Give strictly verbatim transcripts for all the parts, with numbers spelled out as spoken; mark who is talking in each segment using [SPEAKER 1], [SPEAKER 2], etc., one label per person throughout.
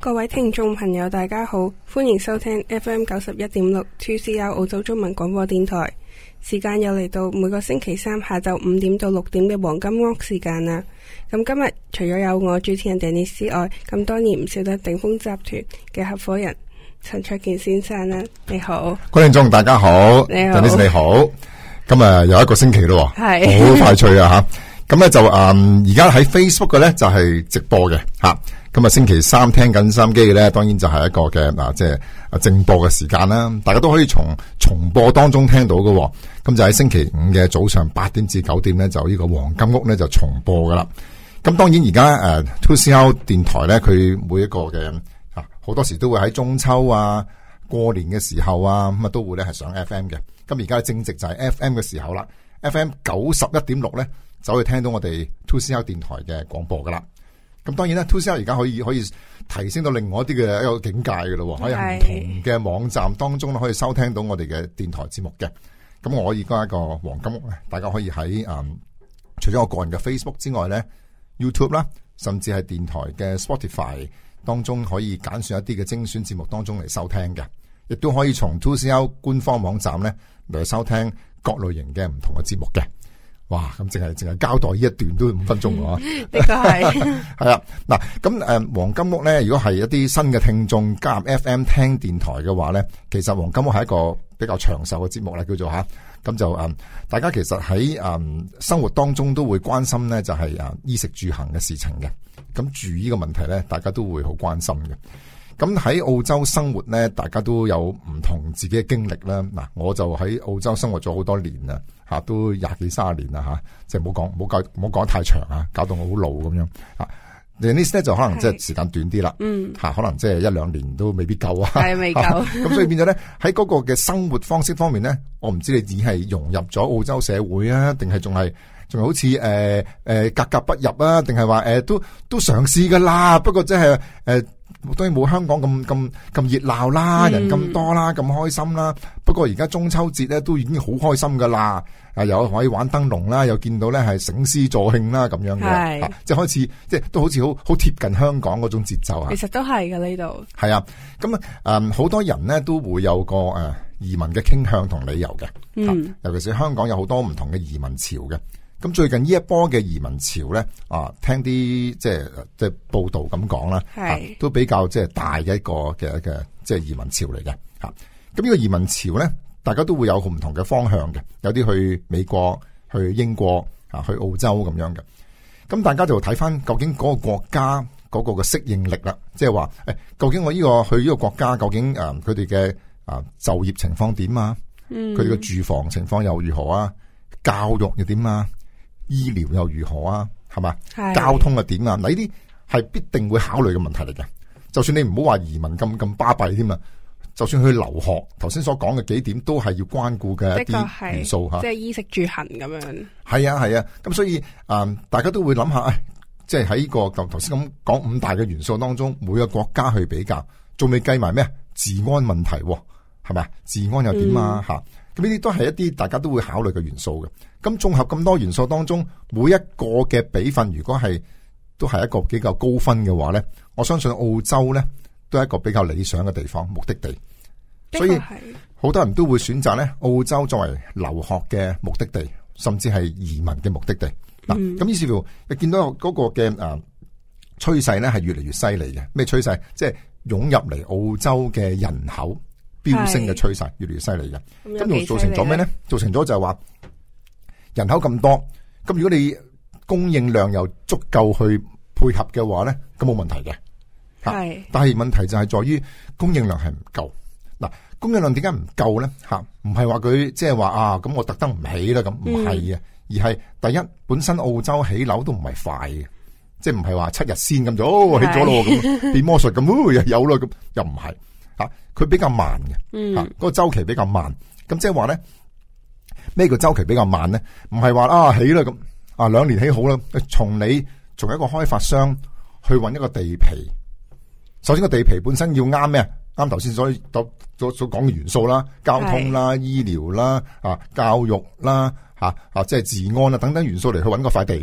[SPEAKER 1] 各位聽眾朋友大家好，歡迎收聽 F M 九十一點六 two C R 澳洲中文廣播電台。時間又嚟到每個星期三下晝五點到六點嘅黃金屋時間啦。咁今日除咗有我主持人 Dennis 之外，咁當然唔少得鼎豐集團嘅合夥人陳焯楗先生啦。你好，各位聽眾大家好，你好 Dennis 你好。今日又一個星期咯，係好快脆啊吓。咁咧就誒而家喺 Facebook 嘅咧就係、是、直播嘅吓。今日星期三聽緊收音機嘅咧，當然就係一個嘅嗱，即係啊正播嘅時間啦。大家都可以從重播當中聽到嘅。咁就喺星期五嘅早上八點至九點咧，就呢個黃金屋咧就重播噶啦。咁當然而家誒 two C R 電台咧，佢每一個嘅啊好多時都會喺中秋啊、過年嘅時候啊，咁啊都會咧係上 F M 嘅。咁而家正值就係 F M 嘅時候啦 ，F M 九十一點六咧，就可以聽到我哋 two C R 電台嘅廣播噶啦。咁當然啦 two C R 而家可以可以提升到另外一啲嘅一個境界嘅咯，可以喺唔同嘅網站當中可以收聽到我哋嘅電台節目嘅。咁我而家一個黃金屋咧，大家可以喺誒、嗯，除咗我個人嘅 Facebook 之外咧 ，YouTube 啦，甚至係電台嘅 Spotify 當中可以揀選一啲嘅精選節目當中嚟收聽嘅，亦都可以從 two C R 官方網站咧嚟收聽各類型嘅唔同嘅節目嘅。哇！咁淨係淨係交代呢一段都五分鐘喎。呢個係係啊，嗱咁誒黃金屋咧，如果係一啲新嘅聽眾加入 F M 聽電台嘅話咧，其實黃金屋係一個比較長壽嘅節目啦，叫做吓。咁就誒、嗯，大家其實喺誒、嗯、生活當中都會關心咧，就係誒衣食住行嘅事情嘅。咁住呢個問題咧，大家都會好關心嘅。咁喺澳洲生活咧，大家都有唔同自己嘅經歷啦。嗱，我就喺澳洲生活咗好多年啦，吓都廿幾卅年啦，吓即係唔好講，唔好講，唔好講太長啊，搞到我好老咁樣。啊 Dennis 咧就可能即係時間短啲啦，嗯，吓可能即係一兩年都未必夠啊，係未夠。咁所以變咗咧喺嗰個嘅生活方式方面咧，我唔知你只係融入咗澳洲社會啊，定係仲係仲係好似誒誒格格不入啊，定係話誒都都嘗試噶啦，不過即係誒。呃當然冇香港咁咁咁熱鬧啦，人咁多啦，咁開心啦。不過而家中秋節咧都已經好開心噶啦，啊又可以玩燈籠啦，又見到咧係醒獅助慶啦咁樣嘅，即係開始即係都好似好好貼近香港嗰種節奏啊。其實都係嘅呢度。係啊，咁啊誒好多人咧都會有個誒、呃、移民嘅傾向同理由嘅，嗯，尤其是香港有好多唔同嘅移民潮嘅。咁最近呢一波嘅移民潮咧，啊，聽啲即係即係報道咁講啦，啊，都比較即係大嘅一個嘅嘅即係移民潮嚟嘅吓。咁呢個移民潮咧，大家都會有唔同嘅方向嘅，有啲去美國、去英國啊、去澳洲咁樣嘅。咁大家就睇翻究竟嗰個國家嗰個嘅適應力啦，即係話誒，究竟我呢個去呢個國家究竟誒佢哋嘅啊就業情況點啊？佢哋嘅住房情況又如何啊？教育又點啊？醫療又如何啊？係嘛？交通又點啊？嗱，呢啲係必定會考慮嘅問題嚟嘅。就算你唔好話移民咁咁巴閉添啊，就算去留學，頭先所講嘅幾點都係要關顧嘅一啲元素吓。即係衣食住行咁樣。係啊係啊，咁、啊、所以誒、嗯，大家都會諗下，誒，即係喺呢個頭頭先咁講五大嘅元素當中，每個國家去比較，仲未計埋咩治安問題，係咪？治安又點啊？吓、嗯，咁呢啲都係一啲大家都會考慮嘅元素嘅。咁綜合咁多元素當中，每一個嘅比分，如果係都係一個比較高分嘅話咧，我相信澳洲咧都係一個比較理想嘅地方，目的地。所以好多人都會選擇咧澳洲作為留學嘅目的地，甚至係移民嘅目的地。嗱、嗯，咁於是乎你見到嗰個嘅誒趨勢咧係越嚟越犀利嘅。咩趨勢？即係湧入嚟澳洲嘅人口飆升嘅趨勢，越嚟越犀利嘅。咁又造成咗咩咧？造成咗就係話。人口咁多，咁如果你供應量又足夠去配合嘅話咧，咁冇問題嘅。係，但係問題就係在於供應量係唔夠。嗱，供應量點解唔夠咧？吓，唔係話佢即係話啊，咁我特登唔起啦，咁唔係嘅，而係第一本身澳洲起樓都唔係快嘅，即係唔係話七日先咁就哦起咗咯，咁變魔術咁哦又有咯，咁又唔係吓，佢比較慢嘅，吓、嗯、嗰、嗰個周期比較慢，咁即係話咧。咩叫周期比較慢咧？唔係話啊起啦咁啊兩年起好啦，從你從一個開發商去揾一個地皮，首先個地皮本身要啱咩？啱頭先所所所講嘅元素啦，交通啦、醫療啦、啊教育啦、吓啊即係治安啦等等元素嚟去揾個塊地噶嘛。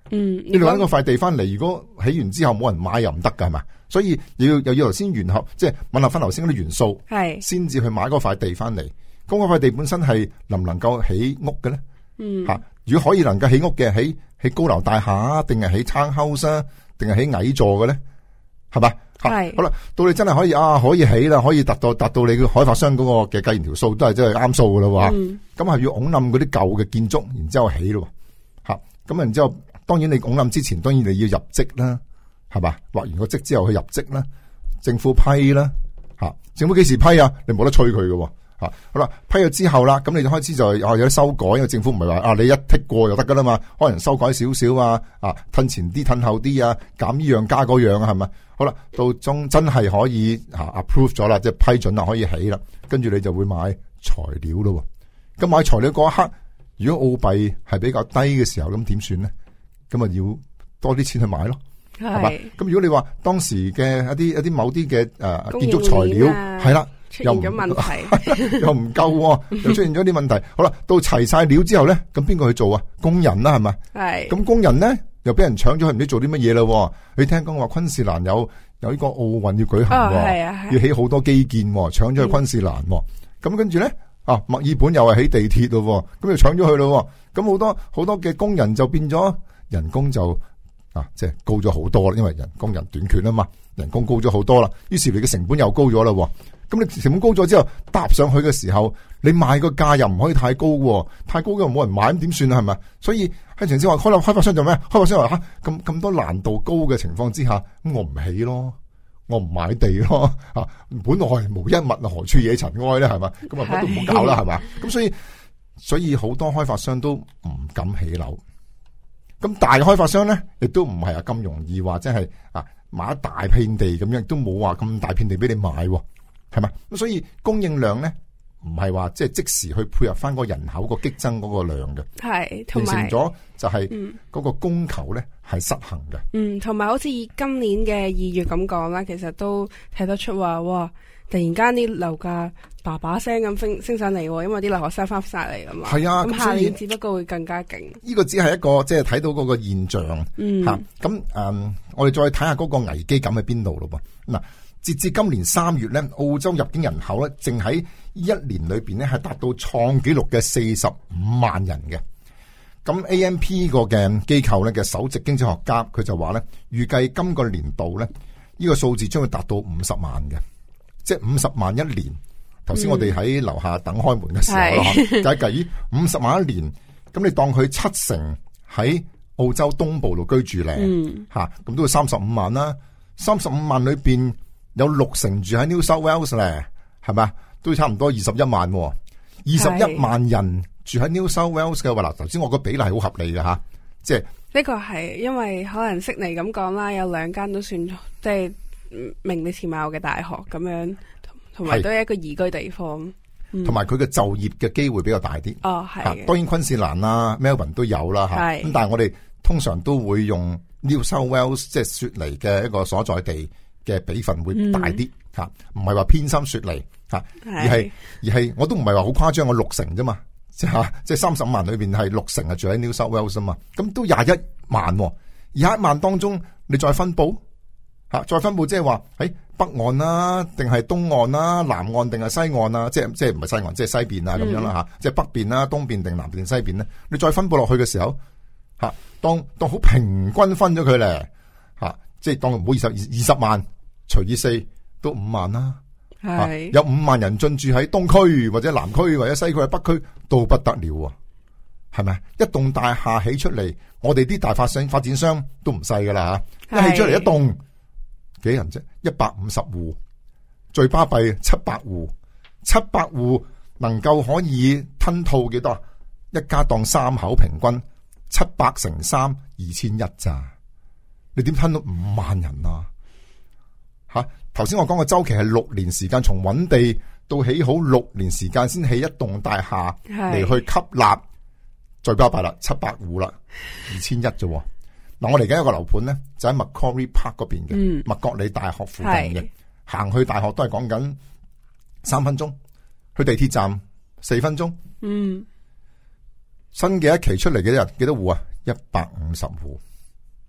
[SPEAKER 1] 嗯，
[SPEAKER 2] 你攞嗰塊地翻嚟，如果起完之後冇人買又唔得噶，係嘛？所以要又要頭先聯合，即係吻合翻頭先嗰啲元素，係先至去買嗰塊地翻嚟。咁嗰塊地本身係能唔能夠起屋嘅咧？嗯，吓，如果可以能夠起屋嘅，起起高樓大廈定係起 townhouse 啊，定係起矮座嘅咧？係嘛？係好啦，到你真係可以啊，可以起啦，可以達到達到你嘅開發商嗰個嘅計完條數，都係真係啱數噶啦。咁係、嗯、要拱冧嗰啲舊嘅建築，然之後起咯。吓，咁然之後，當然你拱冧之前，當然你要入則啦，係嘛？畫完個則之後去入則啦，政府批啦。吓，政府幾時批啊？你冇得催佢嘅。吓，好啦，批咗之後啦，咁你就開始就啊有啲修改，因為政府唔係話啊你一剔過就得噶啦嘛，可能修改少少啊，啊褪前啲褪後啲啊，減呢樣加嗰樣啊，係咪？好啦，到中真係可以吓 approve 咗啦，即係批准啦，可以起啦，跟住你就會買材料咯。咁買材料嗰一刻，如果澳幣係比較低嘅時候，咁點算咧？咁啊要多啲錢去買咯，係嘛？咁如果你話當時嘅一啲一啲某啲嘅誒建築材料係啦。出現咗問題，又唔夠、啊，又出現咗啲問題。好啦，到齊晒料之後咧，咁邊個去做啊？工人啦，係咪？係。咁工人咧又俾人搶咗去，唔知做啲乜嘢啦？你聽講話昆士蘭有有呢個奧運要舉行，哦係啊係、要起好多基建，搶咗去昆士蘭。咁、嗯、跟住咧，啊墨爾本又係起地鐵咯，咁又搶咗去咯。咁好多好多嘅工人就變咗人工就啊，即係高咗好多啦，因為人工人短缺啊嘛，人工高咗好多啦，於是你嘅成本又高咗啦。咁你成本高咗之後，搭上去嘅時候，你賣個價又唔可以太高，太高嘅冇人買，咁點算啊？係咪？所以喺前先話開開發商做咩？開發商話吓，咁咁多難度高嘅情況之下，咁我唔起咯，我唔買地咯，啊，本來無一物啊，何處惹塵埃咧？係嘛？咁啊乜都唔好搞啦，係嘛？咁所以所以好多開發商都唔敢起樓。咁大嘅開發商咧，亦都唔係啊咁容易話，即係啊買一大片地咁樣，都冇話咁大片地俾你買。係嘛？咁所以供應量咧，唔係話即係即時去配合翻個人口個激增嗰個量嘅，係同埋形成咗就係嗰個供求咧係失衡嘅。嗯，同埋好似以今年嘅二月咁講啦，其實都睇得出話，哇！突然間啲樓價叭叭聲咁升升上嚟，因為啲留學生翻晒嚟噶嘛。係啊，咁下年只不過會更加勁。呢個只係一個即係睇到嗰個現象。嗯，吓咁誒，我哋再睇下嗰個危機感喺邊度咯噃嗱。截至今年三月咧，澳洲入境人口咧，淨喺一年裏邊咧係達到創紀錄嘅四十五萬人嘅。咁 A M P 個嘅機構咧嘅首席經濟學家佢就話咧，預計今個年度咧呢個數字將會達到五十萬嘅，即係五十萬一年。頭先我哋喺樓下等開門嘅時候啦，計計咦五十萬一年，咁你當佢七成喺澳洲東部度居住咧，吓咁、嗯、都要三十五萬啦。三十五萬裏邊。有六成住喺 New South Wales 咧，係咪？都差唔多二十一萬，二十一萬人住喺 New South Wales 嘅話，嗱，頭先我個比例係好合理嘅吓，即係呢個係因為可能悉尼咁講啦，有兩間都算即係名列前茅嘅大學咁樣，同埋都係一個宜居地方，同埋佢嘅就業嘅機會比較大啲。哦，係。當然昆士蘭啦、Melbourne 都有啦吓，咁但係我哋通常都會用 New South Wales 即係雪梨嘅一個所在地。嘅比分會大啲吓，唔係話偏心雪梨吓，而係而係我都唔係話好誇張，我六成啫嘛，即係即係三十五萬裏邊係六成係住喺 New South Wales 啊嘛，咁都廿一萬，廿一萬當中你再分布吓，再分布即係話喺北岸啦，定係東岸啦，南岸定係西岸啊，即係即係唔係西岸，即係西邊啊咁樣啦吓，即係北邊啦、東邊定南邊定西邊咧，你再分布落去嘅時候吓，當當好平均分咗佢咧吓，即係當唔好二十二二十萬。除以四都五萬啦，係、啊、有五萬人進駐喺東區或者南區或者西區或者北區都不得了啊，係咪？一棟大廈起出嚟，我哋啲大發商發展商都唔細噶啦吓，一起出嚟一棟幾人啫？一百五十戶，最巴閉七百戶，七百戶能夠可以吞吐幾多？一家當三口平均七百乘三二千一咋？你點吞到五萬人啊？吓，頭先我講個周期係六年時間，從揾地到起好六年時間先起一棟大廈嚟去吸納，最巴閉啦，七百戶啦，二千一啫。嗱，我嚟緊一個樓盤咧，就喺 Macquarie Park 嗰邊嘅，麥覺理大學附近嘅，行去大學都係講緊三分鐘，去地鐵站四分鐘。嗯，新嘅一期出嚟嘅人幾多戶啊？一百五十戶。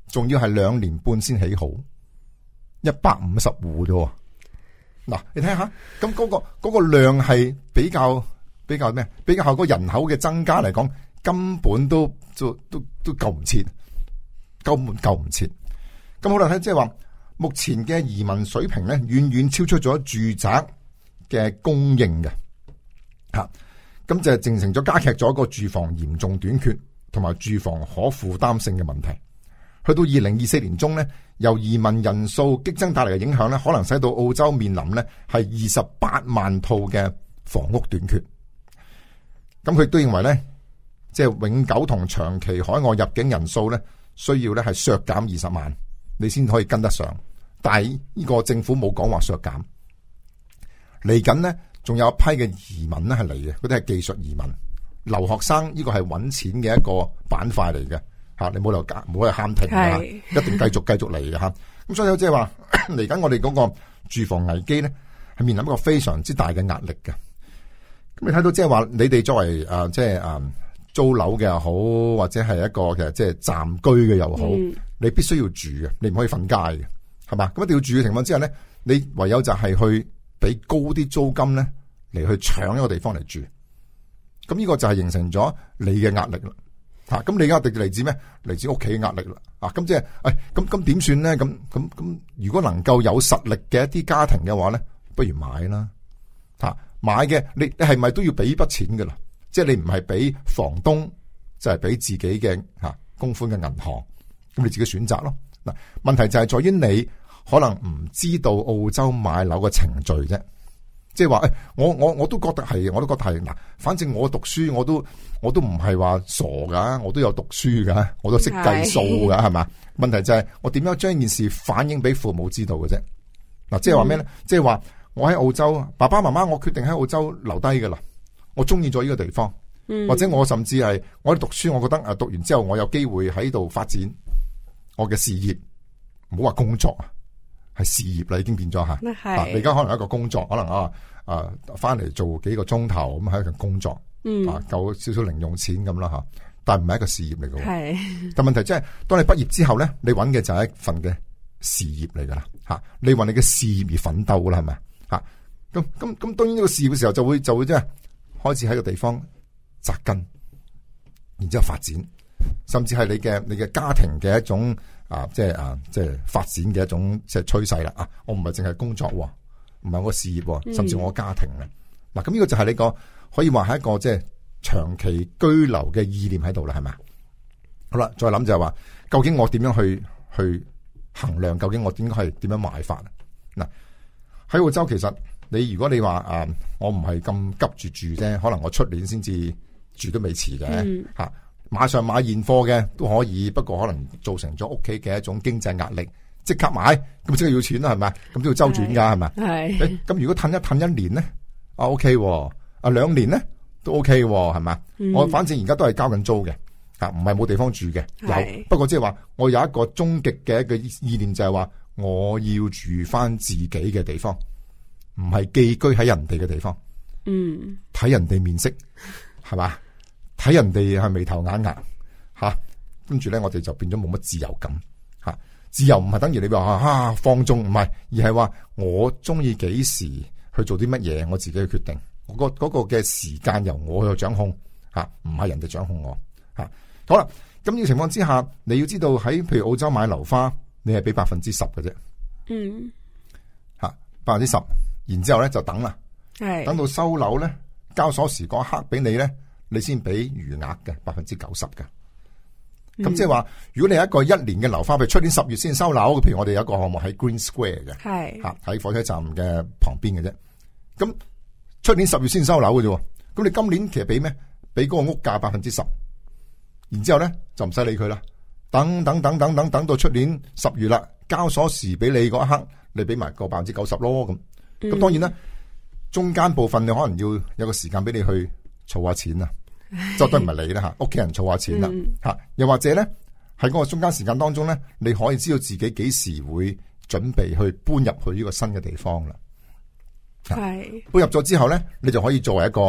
[SPEAKER 2] 仲要係兩年半先起好，一百五十戶啫。嗱，你睇下，咁嗰個嗰個量係比較比較咩？比較個人口嘅增加嚟講，根本都都都都救唔切，根本救唔切。咁好啦，睇即係話，目前嘅移民水平咧，遠遠超出咗住宅嘅供應嘅，吓，咁就形成咗加劇咗個住房嚴重短缺同埋住房可負擔性嘅問題。去到二零二四年中咧，由移民人數激增帶嚟嘅影響咧，可能使到澳洲面臨咧係二十八萬套嘅房屋短缺。咁佢亦都認為咧，即係永久同長期海外入境人數咧，需要咧係削減二十萬，你先可以跟得上。但係呢個政府冇講話削減。嚟緊呢，仲有一批嘅移民咧係嚟嘅，嗰啲係技術移民、留學生，呢個係搵錢嘅一個板塊嚟嘅。吓，你冇理由加，唔好去喊停啊！一定繼續繼續嚟嘅吓。咁所以即係話嚟緊，我哋嗰個住房危機咧，係面臨一個非常之大嘅壓力嘅。咁你睇到即係話，你哋作為誒即係誒租樓嘅又好，或者係一個嘅即係暫居嘅又好，嗯、你必須要住嘅，你唔可以瞓街嘅，係嘛？咁一定要住嘅情況之下咧，你唯有就係去俾高啲租金咧嚟去搶一個地方嚟住。咁呢個就係形成咗你嘅壓力啦。吓，咁你壓力嚟自咩？嚟自屋企嘅壓力啦。啊，咁即係，誒，咁咁點算咧？咁咁咁，如果能夠有實力嘅一啲家庭嘅話咧，不如買啦。吓，買嘅你你係咪都要俾筆錢噶啦？即係你唔係俾房東，就係俾自己嘅吓供款嘅銀行，咁你自己選擇咯。嗱，問題就係在於你可能唔知道澳洲買樓嘅程序啫。即係話誒，我我我都覺得係，我都覺得係嗱。反正我讀書，我都我都唔係話傻噶，我都有讀書噶，我都識計數噶，係嘛？問題就係我點樣將件事反映俾父母知道嘅啫。嗱，即係話咩咧？即係話我喺澳洲，爸爸媽媽，我決定喺澳洲留低噶啦。我中意咗呢個地方，嗯、或者我甚至係我喺讀書，我覺得誒讀完之後我有機會喺度發展我嘅事業，唔好話工作啊。係事業啦，已經變咗吓。啊，你而家可能一個工作，可能啊啊翻嚟做幾個鐘頭咁，係一個工作，嗯、啊夠少少零用錢咁啦吓。但係唔係一個事業嚟嘅。係。但問題即係，當你畢業之後咧，你揾嘅就係一份嘅事業嚟噶啦吓。你為你嘅事業而奮鬥啦，係咪吓？咁咁咁，當然呢個事業嘅時候就會就會即係開始喺個地方扎根，然之後發展，甚至係你嘅你嘅家庭嘅一種。啊，即係啊，即係發展嘅一種即係趨勢啦！啊，我唔係淨係工作，唔係我事業，甚至我家庭咧。嗱、嗯，咁呢個就係你個可以話係一個即係長期居留嘅意念喺度啦，係咪？好啦，再諗就係話，究竟我點樣去去衡量？究竟我應該係點樣買法？嗱，喺澳洲其實你如果你話啊，我唔係咁急住住啫，可能我出年先至住都未遲嘅吓。嗯馬上買現貨嘅都可以，不過可能造成咗屋企嘅一種經濟壓力，即刻買咁即係要錢啦，係咪？咁都要周轉噶，係咪？係。誒，咁如果褪一褪一年咧，啊 OK，啊兩年咧都 OK，係咪？嗯、我反正而家都係交緊租嘅，啊唔係冇地方住嘅，有。不過即係話我有一個終極嘅一個意念就係話我要住翻自己嘅地方，唔係寄居喺人哋嘅地方。嗯。睇人哋面色，係嘛？睇人哋係眉頭眼額吓，跟住咧我哋就變咗冇乜自由感吓。自由唔係等於你話啊放縱，唔係，而係話我中意幾時去做啲乜嘢，我自己去決定。我個嗰個嘅時間由我去掌控吓，唔係人哋掌控我吓。好啦，咁呢個情況之下，你要知道喺譬如澳洲買樓花，你係俾百分之十嘅啫。嗯，吓百分之十，然之後咧就等啦，係等到收樓咧交鎖匙嗰刻俾你咧。你先俾餘額嘅百分之九十嘅，咁即係話，如果你有一個一年嘅樓花，譬如出年十月先收樓，譬如我哋有一個項目喺 Green Square 嘅，係吓喺火車站嘅旁邊嘅啫。咁出年十月先收樓嘅啫，咁你今年其實俾咩？俾嗰個屋價百分之十，然之後咧就唔使理佢啦。等等等等等等到出年十月啦，交鎖匙俾你嗰一刻，你俾埋個百分之九十咯。咁咁當然啦，中間部分你可能要有個時間俾你去儲下錢啊。就都唔係你啦吓，屋企人儲下錢啦吓，嗯、又或者咧喺嗰個中間時間當中咧，你可以知道自己幾時會準備去搬入去呢個新嘅地方啦。係搬入咗之後咧，你就可以作為一個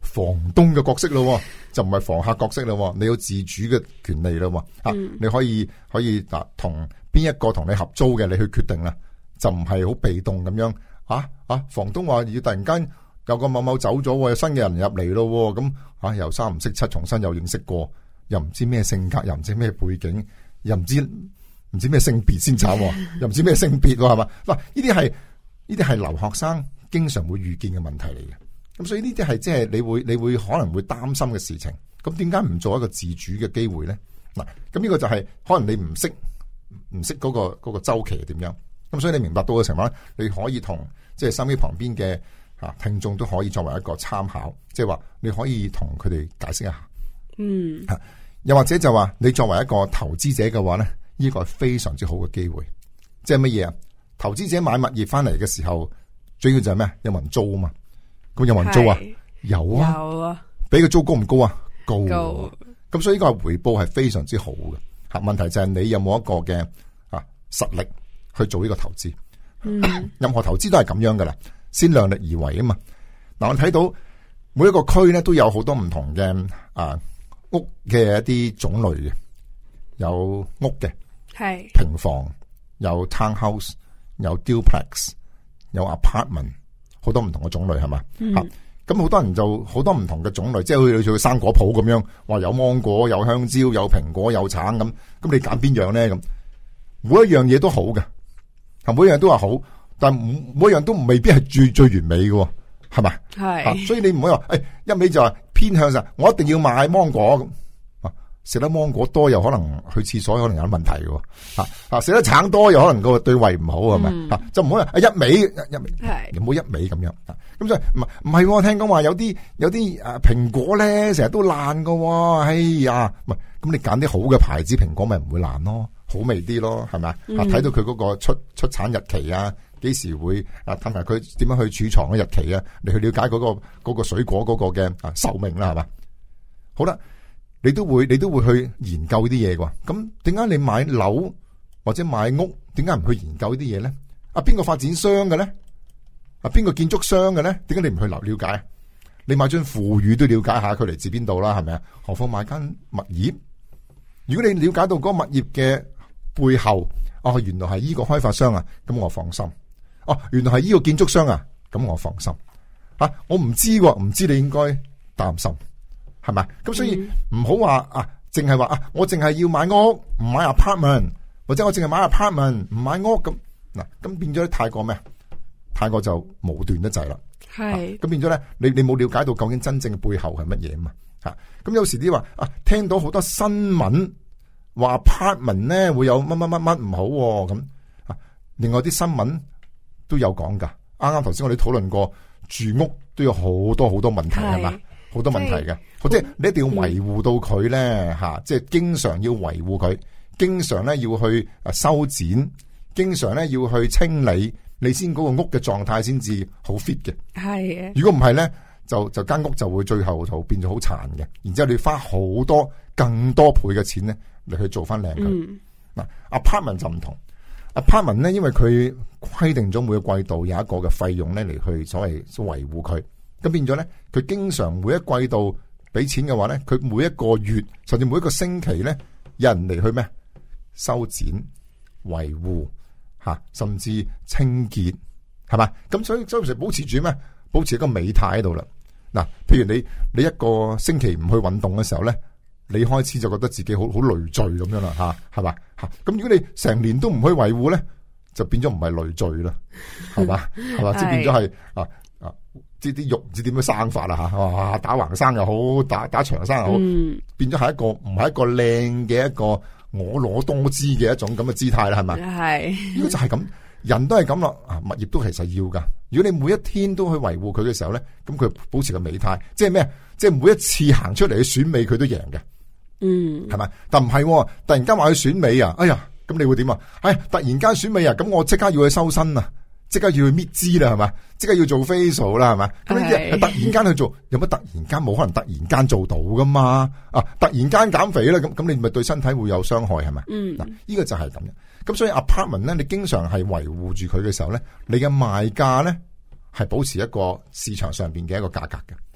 [SPEAKER 2] 房東嘅角色咯，就唔係房客角色咯。你有自主嘅權利咯，啊、嗯，你可以可以嗱同邊一個同你合租嘅，你去決定啦，就唔係好被動咁樣啊啊！房東話要突然間有個某某走咗，有新嘅人入嚟咯，咁啊又三唔識七，重新又認識過，又唔知咩性格，又唔知咩背景，又唔知唔知咩性別先慘，又唔知咩性別係嘛？嗱，呢啲係呢啲係留學生經常會遇見嘅問題嚟嘅。咁所以呢啲係即係你會你會可能會擔心嘅事情。咁點解唔做一個自主嘅機會咧？嗱，咁呢個就係可能你唔識唔識嗰個嗰個周期係點樣。咁所以你明白到嘅情況咧，你可以同即係身邊旁邊嘅啊聽眾都可以作為一個參考，即係話你可以同佢哋解釋一下。嗯，吓又或者就話你作為一個投資者嘅話咧，呢個係非常之好嘅機會。即係乜嘢啊？投資者買物業翻嚟嘅時候，最要就係咩？有冇人租啊嘛？咁有冇人租啊？有啊，有啊，俾個租高唔高啊？高。咁所以呢個回報係非常之好嘅。吓，問題就係你有冇一個嘅啊實力去做呢個投資。嗯，任何投資都係咁樣噶啦，先量力而為啊嘛。嗱，我睇到每一個區咧都有好多唔同嘅啊屋嘅一啲種類嘅，有屋嘅，係平房，有 townhouse， 有 duplex， 有 apartment。好多唔同嘅種類係嘛，吓咁好多人就好多唔同嘅種類，即係好似去生果鋪咁樣，話有芒果、有香蕉、有蘋果、有橙咁，咁你揀邊樣咧？咁每一樣嘢都好嘅，係每一樣都話好，但係每一樣都未必係最最完美嘅，係咪？係、啊，所以你唔可以話，誒、哎、一味就話偏向上，我一定要買芒果咁。食得芒果多又可能去廁所可能有問題嘅，吓吓食得橙多又可能個對胃唔好係咪？吓、嗯、就唔好啊一味一味，係唔好一味咁樣。咁所以唔係唔係，我聽講話有啲有啲誒蘋果咧成日都爛嘅，哎呀，唔係咁你揀啲好嘅牌子蘋果咪唔會爛咯，好味啲咯，係咪啊？睇到佢嗰個出出產日期啊，幾時會啊？睇埋佢點樣去儲藏嘅日期啊？你去了解嗰、嗰個嗰、嗰個水果嗰個嘅啊壽命啦，係嘛？好啦。你都會你都會去研究啲嘢㗎，咁點解你買樓或者買屋，點解唔去研究啲嘢咧？啊，邊個發展商嘅咧？啊，邊個建築商嘅咧？點解你唔去了了解？你買張附語都了解下佢嚟自邊度啦，係咪啊？何況買間物業？如果你了解到嗰個物業嘅背後，哦，原來係依個開發商啊，咁我放心。哦，原來係依個建築商啊，咁我放心。啊，我唔知喎，唔知你應該擔心。係咪？咁所以唔好話啊，淨係話啊，我淨係要買屋唔買 apartment， 或者我淨係買 apartment 唔買屋咁嗱，咁變咗太過咩？太過就武斷得滯啦。係咁、啊、變咗咧，你你冇了解到究竟真正嘅背後係乜嘢啊嘛？吓，咁有時啲話啊，聽到好多新聞話 apartment 咧會有乜乜乜乜唔好咁啊，另外啲新聞都有講噶。啱啱頭先我哋討論過住屋都有好多好多問題係嘛？好多問題嘅，即係你一定要維護到佢咧吓，即係經常要維護佢，經常咧要去誒修剪，經常咧要去清理，你先嗰個屋嘅狀態先至好 fit 嘅。係嘅，如果唔係咧，就就間屋就會最後就變咗好殘嘅，然之後你花好多更多倍嘅錢咧嚟去做翻靚佢。嗱、嗯、，apartment 就唔同 ，apartment 咧因為佢規定咗每個季度有一個嘅費用咧嚟去所謂維護佢。咁變咗咧，佢經常每一季度俾錢嘅話咧，佢每一個月甚至每一個星期咧，有人嚟去咩修剪、維護吓，甚至清潔，係嘛？咁所以所以保持住咩？保持一個美態喺度啦。嗱，譬如你你一個星期唔去運動嘅時候咧，你開始就覺得自己好好累贅咁樣啦，吓係嘛吓。咁如果你成年都唔去維護咧，就變咗唔係累贅啦，係嘛係嘛，即係變咗係啊啊。啲啲肉唔知點樣生法啦吓，哇打橫生又好，打打長生又好，嗯、變咗係一個唔係一個靚嘅一個婀娜多姿嘅一種咁嘅姿態啦，係咪？係，呢個就係咁，人都係咁咯。啊，物業都其實要噶。如果你每一天都去維護佢嘅時候咧，咁佢保持個美態，即係咩？即係每一次行出嚟去選美，佢都贏嘅。嗯，係咪？但唔係，突然間話去選美啊！哎呀，咁你會點啊？哎，突然間選美啊！咁我即刻要去收身啊！即刻要去搣脂啦，係嘛？即刻要做 facial 啦，係嘛？咁呢啲係突然間去做，有乜突然間冇可能突然間做到噶嘛？啊，突然間減肥啦，咁咁你咪對身體會有傷害係咪？嗯，嗱，呢個就係咁樣。咁所以 apartment 咧，你經常係維護住佢嘅時候咧，你嘅賣價咧係保持一個市場上邊嘅一個價格嘅。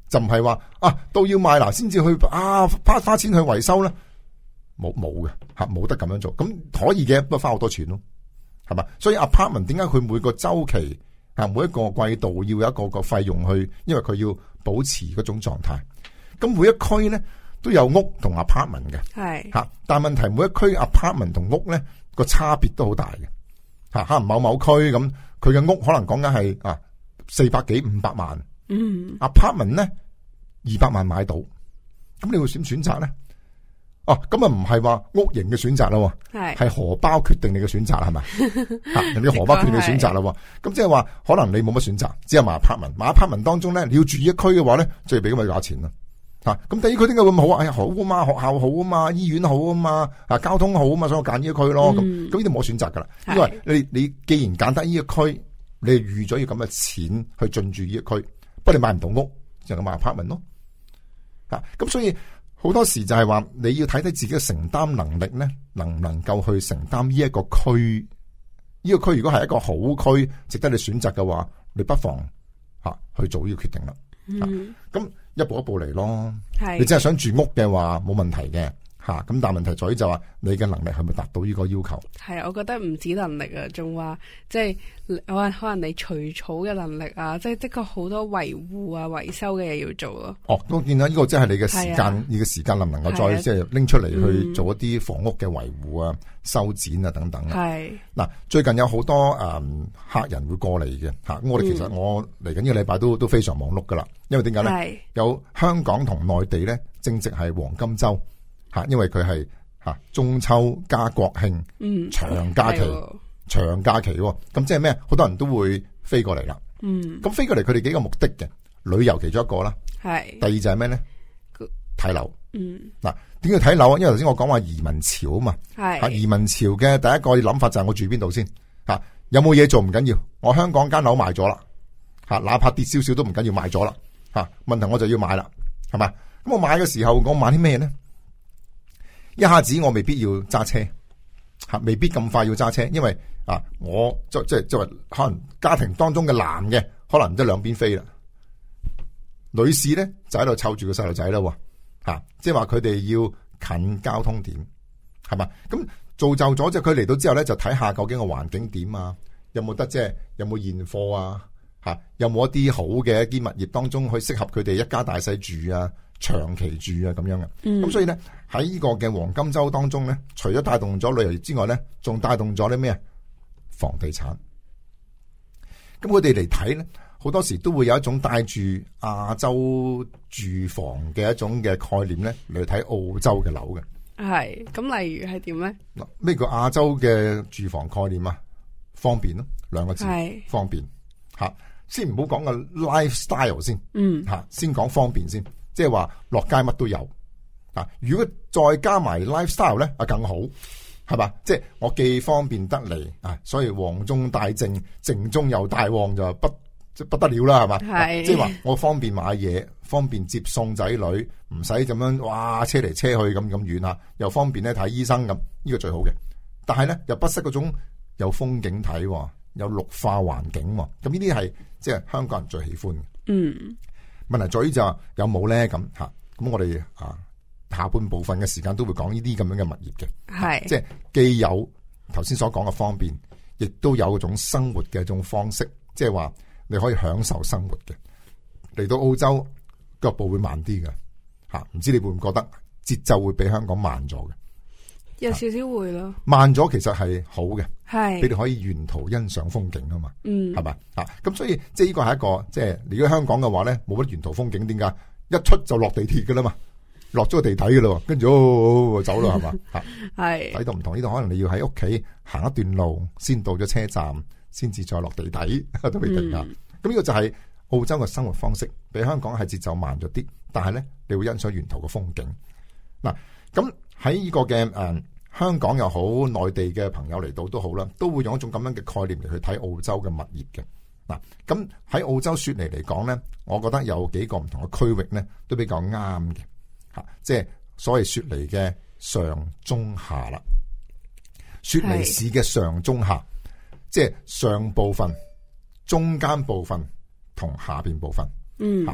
[SPEAKER 2] 就唔係話啊都要賣啦先至去啊花花錢去維修咧，冇冇嘅吓，冇得咁樣做。咁可以嘅，不過花好多錢咯，係嘛？所以 apartment 點解佢每個周期啊，每一個季度要有一個個費用去，因為佢要保持嗰種狀態。咁每一區咧都有屋同 apartment 嘅，係吓，但係問題每一區 apartment 同屋咧個差別都好大嘅吓，可能某某區咁佢嘅屋可能講緊係啊四百幾五百萬，嗯 apartment 咧二百萬買到，咁你會選選擇咧？哦，咁啊唔係話屋型嘅選擇啦，係係荷包決定你嘅選擇係咪？吓，人哋荷包決定你嘅選擇啦，咁即係話可能你冇乜選擇，只有買 apartment。買 apartment 當中咧，你要住一區嘅話咧，就要俾咁嘅價錢啦。吓，咁第二區點解會咁好啊？哎呀，好啊嘛，學校好啊嘛，醫院好啊嘛，啊交通好啊嘛，所以我揀呢一區咯。咁咁呢啲冇選擇噶啦，因為你你既然揀得呢一區，你預咗要咁嘅錢去進駐呢一區，不過你買唔到屋，就咁買 apartment 咯。吓，咁所以。好多時就係話你要睇睇自己嘅承擔能力咧，能唔能夠去承擔呢一個區？呢、這個區如果係一個好區，值得你選擇嘅話，你不妨吓、啊、去做呢個決定啦。咁、嗯啊、一步一步嚟咯。係你真係想住屋嘅話，冇問題嘅吓。咁、啊、但係問題在於就話你嘅能力係咪達到呢個要求？係，我覺得唔止能力啊，仲話即係可可能你除草嘅能力啊，即係的確好多維護啊、維修嘅嘢要做咯。哦，我見到呢個即係你嘅時間，你嘅時間能唔能夠再即係拎出嚟去做一啲房屋嘅維護啊、修剪啊等等。係嗱，最近有好多誒、嗯、客人會過嚟嘅吓，咁我哋其實我嚟緊呢個禮拜都都非常忙碌噶啦，因為點解咧？有香港同內地咧正值係黃金周吓，因為佢係。啊！中秋加國慶，嗯，長假期，長假期，咁即係咩？好多人都會飛過嚟啦。嗯，咁飛過嚟，佢哋幾個目的嘅，旅遊其中一個啦。係。第二就係咩咧？睇樓。嗯。嗱，點解睇樓啊？因為頭先我講話移民潮啊嘛。係。啊，移民潮嘅第一個諗法就係我住邊度先。吓，有冇嘢做唔緊要，我香港間樓賣咗啦。吓，哪怕跌少少都唔緊要，賣咗啦。吓，問題我就要買啦，係嘛？咁我買嘅時候，我買啲咩咧？一下子我未必要揸車，吓，未必咁快要揸車，因為啊，我即即即係可能家庭當中嘅男嘅，可能即係兩邊飛啦。女士咧就喺度湊住個細路仔啦，吓，即係話佢哋要近交通點，係嘛？咁造就咗即係佢嚟到之後咧，就睇下究竟個環境點啊，有冇得即係有冇現貨啊，吓，有冇一啲好嘅一啲物業當中去適合佢哋一家大細住啊？長期住啊咁樣嘅，咁、嗯、所以咧喺呢個嘅黃金周當中咧，除咗帶動咗旅遊業之外咧，仲帶動咗啲咩？房地產。咁佢哋嚟睇咧，好多時都會有一種帶住亞洲住房嘅一種嘅概念咧嚟睇澳洲嘅樓嘅。係，咁例如係點咧？嗱，咩叫亞洲嘅住房概念啊？方便咯，兩個字，係方便。吓，先唔好講個 lifestyle 先，嗯，吓，先講方便先。即係話落街乜都有啊！如果再加埋 lifestyle 咧，啊更好，係嘛？即係我既方便得嚟啊，所以旺中帶靜，靜中又帶旺就不即不得了啦，係嘛？係即係話我方便買嘢，方便接送仔女，唔使咁樣哇車嚟車去咁咁遠啊，又方便咧睇醫生咁，呢、這個最好嘅。但係咧又不失嗰種有風景睇，有綠化環境，咁呢啲係即係香港人最喜歡嘅。嗯。問題在於就有冇咧咁吓，咁我哋啊下半部分嘅時間都會講呢啲咁樣嘅物業嘅，係即係既有頭先所講嘅方便，亦都有一種生活嘅一種方式，即係話你可以享受生活嘅。嚟到澳洲腳步會慢啲嘅吓，唔知你會唔會覺得節奏會比香港慢咗嘅？有少少會咯，慢咗其實係好嘅，係你哋可以沿途欣賞風景啊嘛，嗯，係咪啊？咁所以即係呢個係一個即係如果香港嘅話咧，冇乜沿途風景，點解一出就落地鐵噶啦嘛，落咗個地底噶啦，跟住、哦、走啦係嘛，吓係睇到唔同呢度，可能你要喺屋企行一段路，先到咗車站，先至再落地底都未定噶。咁、嗯、呢個就係澳洲嘅生活方式，比香港係節奏慢咗啲，但係咧你會欣賞沿途嘅風景嗱咁。喺呢個嘅誒、嗯、香港又好，內地嘅朋友嚟到都好啦，都會用一種咁樣嘅概念嚟去睇澳洲嘅物業嘅嗱。咁喺澳洲雪梨嚟講咧，我覺得有幾個唔同嘅區域咧都比較啱嘅吓，即係所謂雪梨嘅上中下啦。雪梨市嘅上中下，即係上部分、中間部分同下邊部分。嗯，吓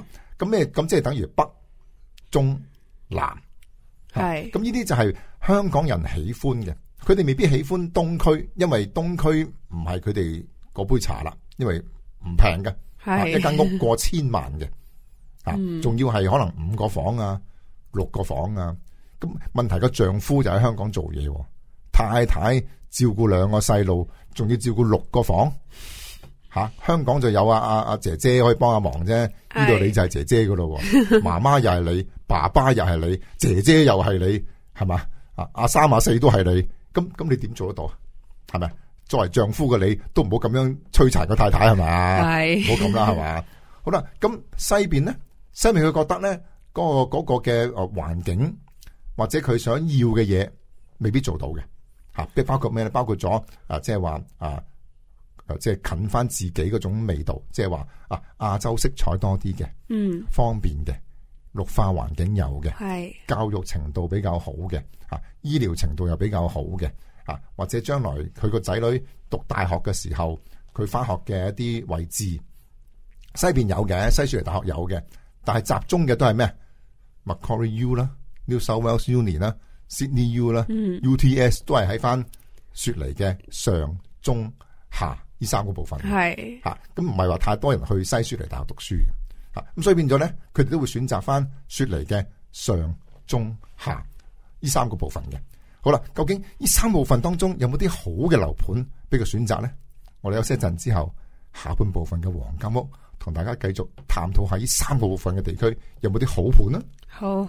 [SPEAKER 2] 咁咩？咁即係等於北、中、南。係。咁呢啲就係香港人喜歡嘅，佢哋未必喜歡東區，因為東區唔係佢哋嗰杯茶啦，因為唔平嘅。係。一間屋過千萬嘅，啊、嗯，仲要係可能五個房啊、六個房啊。咁問題個丈夫就喺香港做嘢，太太照顧兩個細路，仲要照顧六個房。吓、啊，香港就有啊啊啊姐姐可以幫下忙啫，呢度你就係姐姐噶咯，媽媽又係你，爸爸又係你，姐姐又係你，係嘛？啊，阿三阿四都係你，咁咁你點做得到啊？係咪？作為丈夫嘅你都唔好咁樣摧殘個太太係咪？係，唔好咁啦係嘛？好啦，咁西邊咧，西邊佢覺得咧，嗰、嗰個、嗰個嘅誒環境或者佢想要嘅嘢未必做到嘅，吓、啊，即係包括咩咧？包括咗啊，即係話啊。即係近翻自己嗰種味道，即係話啊亞洲色彩多啲嘅，嗯，方便嘅，綠化環境有嘅，係教育程度比較好嘅，啊醫療程度又比較好嘅，啊或者將來佢個仔女讀大學嘅時候，佢翻學嘅一啲位置，西邊有嘅，西雪梨大學有嘅，但係集中嘅都係咩 Macquarie U 啦 ，New South Wales Uni 啦 ，Sydney U 啦、嗯、，U T S 都係喺翻雪梨嘅上中下。呢三個部分係吓，咁唔係話太多人去西雪梨大學讀書嘅吓，咁、啊、所以變咗咧，佢哋都會選擇翻雪梨嘅上、中、下呢三個部分嘅。好啦，究竟呢三部分當中有冇啲好嘅樓盤俾佢選擇咧？我哋休息一陣之後，下半部分嘅黃金屋同大家繼續探討下呢三個部分嘅地區有冇啲好盤呢？好。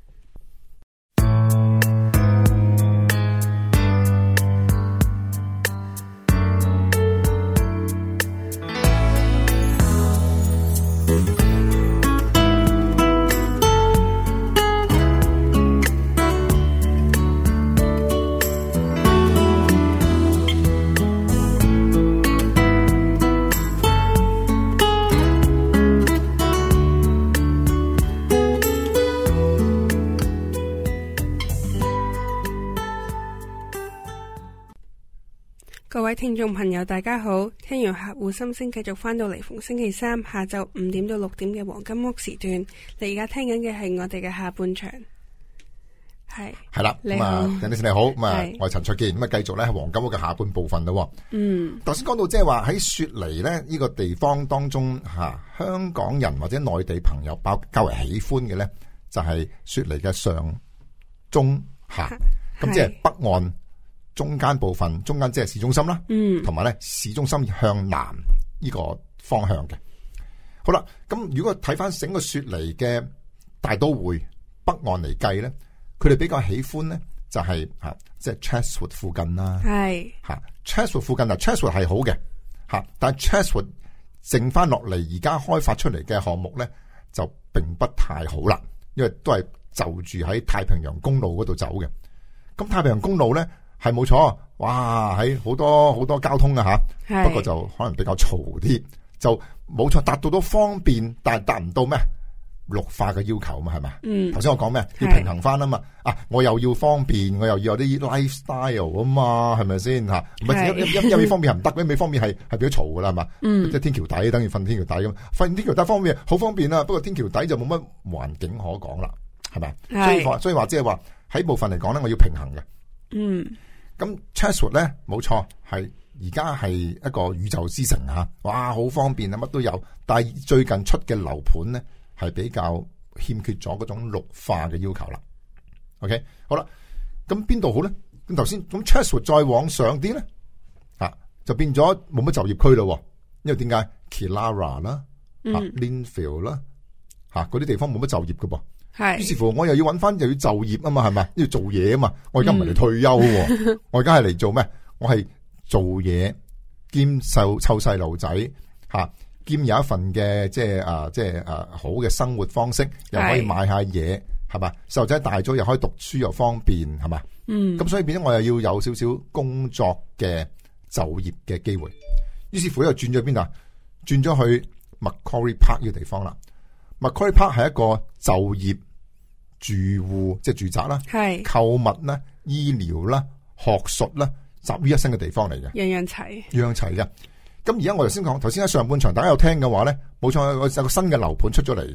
[SPEAKER 1] 各位聽眾朋友大家好，聽完客戶心聲繼續翻到嚟，逢星期三下晝五點到六點嘅黃金屋時段，你而家聽緊嘅係我哋嘅下半場。係係啦，咁啊，
[SPEAKER 2] 鄭女士你好，咁啊，我係陳焯楗，咁啊，繼續咧係黃金屋嘅下半部分咯。嗯，頭先講到即係話喺雪梨咧呢個地方當中吓、啊，香港人或者內地朋友包較為喜歡嘅咧，就係、是、雪梨嘅上、中、下，咁即係北岸。中間部分，中間即係市中心啦，嗯，同埋咧市中心向南呢個方向嘅。好啦，咁如果睇翻整個雪梨嘅大都會北岸嚟計咧，佢哋比較喜歡咧就係吓，即係 Chatswood 附近啦，係吓 Chatswood 附近啊 Chatswood 係好嘅吓，但係 Chatswood 剩翻落嚟而家開發出嚟嘅項目咧就並不太好啦，因為都係就住喺太平洋公路嗰度走嘅。咁太平洋公路咧。係冇錯，哇！喺好多好多交通啊吓，不過就可能比較嘈啲，就冇錯達到都方便，但係達唔到咩綠化嘅要求嘛，係咪？嗯，頭先我講咩？要平衡翻啊嘛，啊，我又要方便，我又要有啲 lifestyle 啊嘛，係咪先吓？唔係一一一味方面係唔得，一味方面係係比較嘈噶啦，係嘛？嗯，即係天橋底等於瞓天橋底咁，瞓天橋底方面好方便啦，不過天橋底就冇乜環境可講啦，係咪？所以話所以話即係話喺部分嚟講咧，我要平衡嘅。嗯。咁 Chatswood 咧冇錯，係而家係一個宇宙之城吓，哇，好方便啊，乜都有。但係最近出嘅樓盤咧，係比較欠缺咗嗰種綠化嘅要求啦。OK， 好啦，咁邊度好咧？咁頭先咁 Chatswood 再往上啲咧，啊，就變咗冇乜就業區咯。因為點解 Killara 啦、嗯、啊 Lindfield 啦，吓嗰啲地方冇乜就業噶噃。係，於是乎我又要揾翻又要就業啊嘛，係咪？要做嘢啊嘛。我而家唔係嚟退休，嗯、我而家係嚟做咩？我係做嘢兼湊湊細路仔吓，兼有一份嘅即係啊即係啊好嘅生活方式，又可以買下嘢，係嘛？細路仔大咗又可以讀書又方便，係嘛？嗯，咁所以變咗我又要有少少工作嘅就業嘅機會。於是乎又轉咗邊度？轉咗去 Macquarie Park 呢個地方啦。Macquarie Park 係一個就業、住戶即係住宅啦，係購物啦、醫療啦、學術啦，集於一身嘅地方嚟嘅，
[SPEAKER 1] 樣樣齊，
[SPEAKER 2] 樣樣齊嘅。咁而家我頭先講，頭先喺上半場大家有聽嘅話咧，冇錯，有個新嘅樓盤出咗嚟嘅，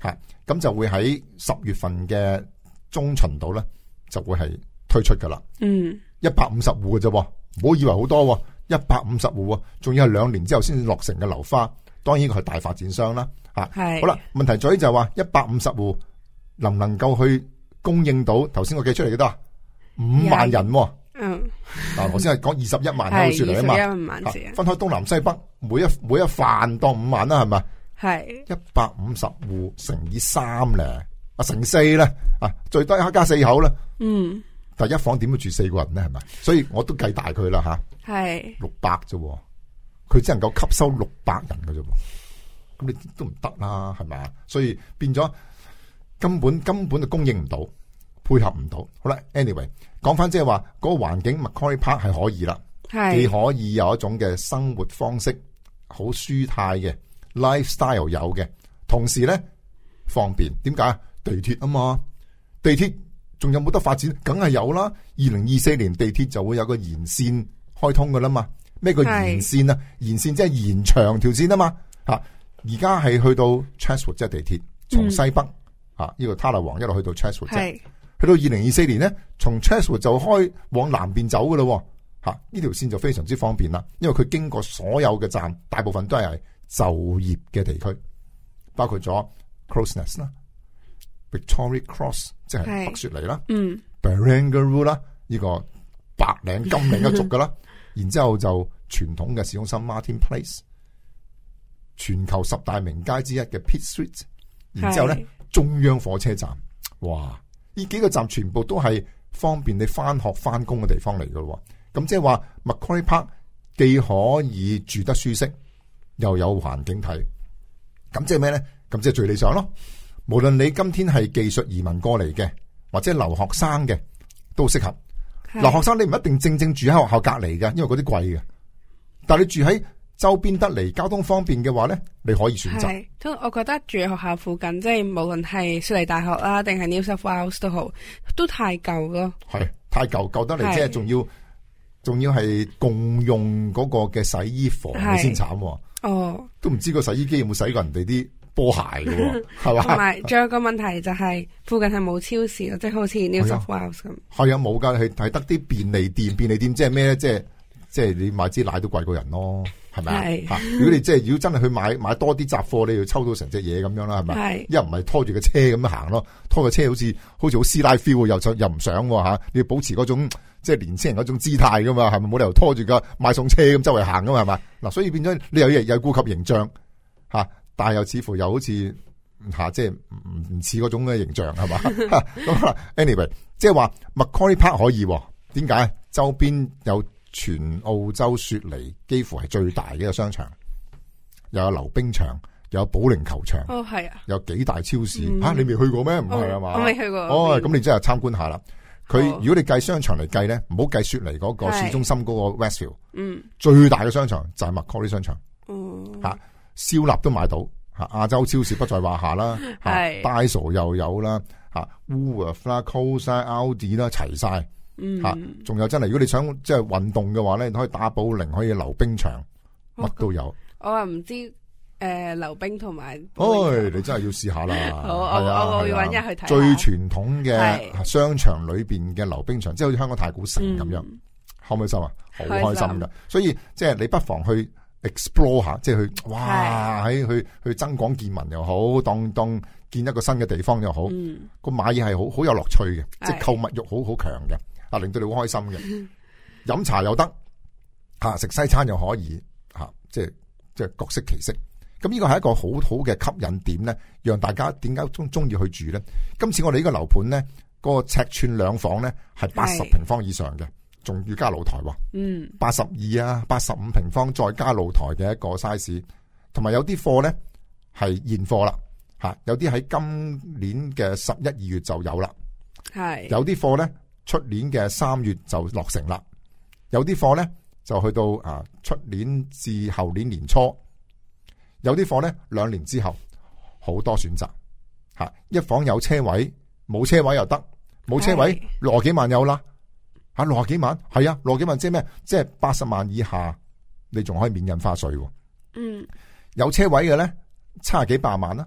[SPEAKER 2] 吓，咁就會喺十月份嘅中旬度咧，就會係推出噶啦。嗯，一百五十戶嘅啫，唔好以為好多，一百五十戶，仲要係兩年之後先至落成嘅樓花。當然佢係大發展商啦，吓係好啦。問題在於就係話一百五十戶能唔能夠去供應到頭先我計出嚟幾多啊？五萬人。嗯，嗱，我先係講二十一萬喺度說嚟啊嘛，分開東南西北，每一每一範當五萬啦，係咪？係一百五十戶乘以三咧，啊乘四咧，啊最多一家四口啦。嗯，但一房點會住四個人咧？係咪？所以我都計大佢啦吓，係六百啫，佢只能夠吸收六百人嘅啫，咁你都唔得啦，係咪啊？所以變咗根本根本就供應唔到，配合唔到。好啦 ，anyway。講翻即係話嗰個環境 Macquarie Park 係可以啦，既可以有一種嘅生活方式，好舒泰嘅 lifestyle 有嘅，同時咧方便。點解？地鐵啊嘛，地鐵仲有冇得發展？梗係有啦。二零二四年地鐵就會有個延線開通噶啦嘛。咩叫延線啊？延線即係延長條線啊嘛。吓，而家係去到 Chatswood 即係地鐵，從西北啊呢、嗯、個塔勒王一路去到 Chatswood 啫。去到二零二四年咧，從 Chatswood 就開往南邊走噶咯，吓呢條線就非常之方便啦。因為佢經過所有嘅站，大部分都係就業嘅地區，包括咗 Crows Nest 啦、Victoria Cross 即係北雪梨啦、嗯 Barangaroo 啦，呢個白領金領一族噶啦。然之後就傳統嘅市中心 Martin Place， 全球十大名街之一嘅 Pitt Street， 然之後咧中央火車站，哇！呢幾個站全部都係方便你翻學翻工嘅地方嚟噶咯，咁即係話 Macquarie Park 既可以住得舒適，又有環境睇，咁即係咩咧？咁即係最理想咯。無論你今天係技術移民過嚟嘅，或者留學生嘅，都適合。留學生你唔一定正正住喺學校隔籬嘅，因為嗰啲貴嘅。但係你住喺周邊得嚟，交通方便嘅話咧，你可以選擇。係，
[SPEAKER 1] 都我覺得住喺學校附近，即係無論係雪梨大學啦，定係 New South Wales 都好，都太舊咯。係
[SPEAKER 2] 太舊，舊得嚟，即係仲要仲要係共用嗰個嘅洗衣房先慘。哦，都唔知個洗衣機有冇洗過人哋啲波鞋嘅，係嘛？同埋仲有個問題就係附近係冇超市咯，即係好似 New South Wales 咁。係啊，冇噶，係係得啲便利店，便利店即係咩咧？即係即係你買支奶都貴過人咯。係咪啊？如果你即係如果真係去買買多啲雜貨，你要抽到成隻嘢咁樣啦，係咪？一唔係拖住個車咁樣行咯，拖個車好似好似好師奶 feel，又又唔想吓，你要保持嗰種即係年輕人嗰種姿態噶嘛，係咪？冇理由拖住個買餸車咁周圍行噶嘛，係咪？嗱，所以變咗你又又顧及形象吓，但係又似乎又好似吓，即係唔唔似嗰種嘅形象係嘛？咁 anyway， 即係話 Macquarie Park 可以，點解？周邊有。全澳洲雪梨幾乎係最大嘅一個商場，又有溜冰場，又有保齡球場。哦，係啊，有幾大超市。吓、嗯啊，你未去過咩？唔係啊嘛？我未去過。哦，咁你真係參觀下啦。佢、哦、如果你計商場嚟計咧，唔好計雪梨嗰個市中心嗰個 Westfield。嗯。最大嘅商場就係 Macquarie 商場。哦。吓、啊，燒臘都買到。吓、啊，亞洲超市不在話下啦。係。Daiso 又有啦。吓、啊、Woolworth 啦 Coles 啦 Aldi 啦，齊晒。嗯，吓，仲有真係，如果你想即係運動嘅話咧，你可以打保齡，可以溜冰場，乜都有。我話唔知誒，溜冰同埋，哎，你真係要試下啦。好，我我我要搵日去睇。最傳統嘅商場裏邊嘅溜冰場，即係好似香港太古城咁樣，開唔開心啊？好開心噶，所以即係你不妨去 explore 下，即係去哇喺去去增廣見聞又好，當當見一個新嘅地方又好，個買嘢係好好有樂趣嘅，即係購物欲好好強嘅。啊，令到你好開心嘅，飲茶又得，吓食西餐又可以，吓即係即係各色其色。咁呢個係一個好好嘅吸引點咧，讓大家點解中中意去住咧？今次我哋呢個樓盤咧，嗰個尺寸兩房咧係八十平方以上嘅，仲要加露台喎。嗯，八十二啊，八十五平方再加露台嘅一個 size， 同埋有啲貨咧係現貨啦，吓有啲喺今年嘅十一二月就有啦，係有啲貨咧。出年嘅三月就落成啦，有啲貨咧就去到啊出年至後年年初，有啲貨咧兩年之後，好多選擇吓，一房有車位，冇車位又得，冇車位六十幾萬有啦，吓六十幾萬係啊，六十幾萬即係咩？即係八十萬以下，你仲可以免印花稅。嗯，有車位嘅咧七十幾百萬啦，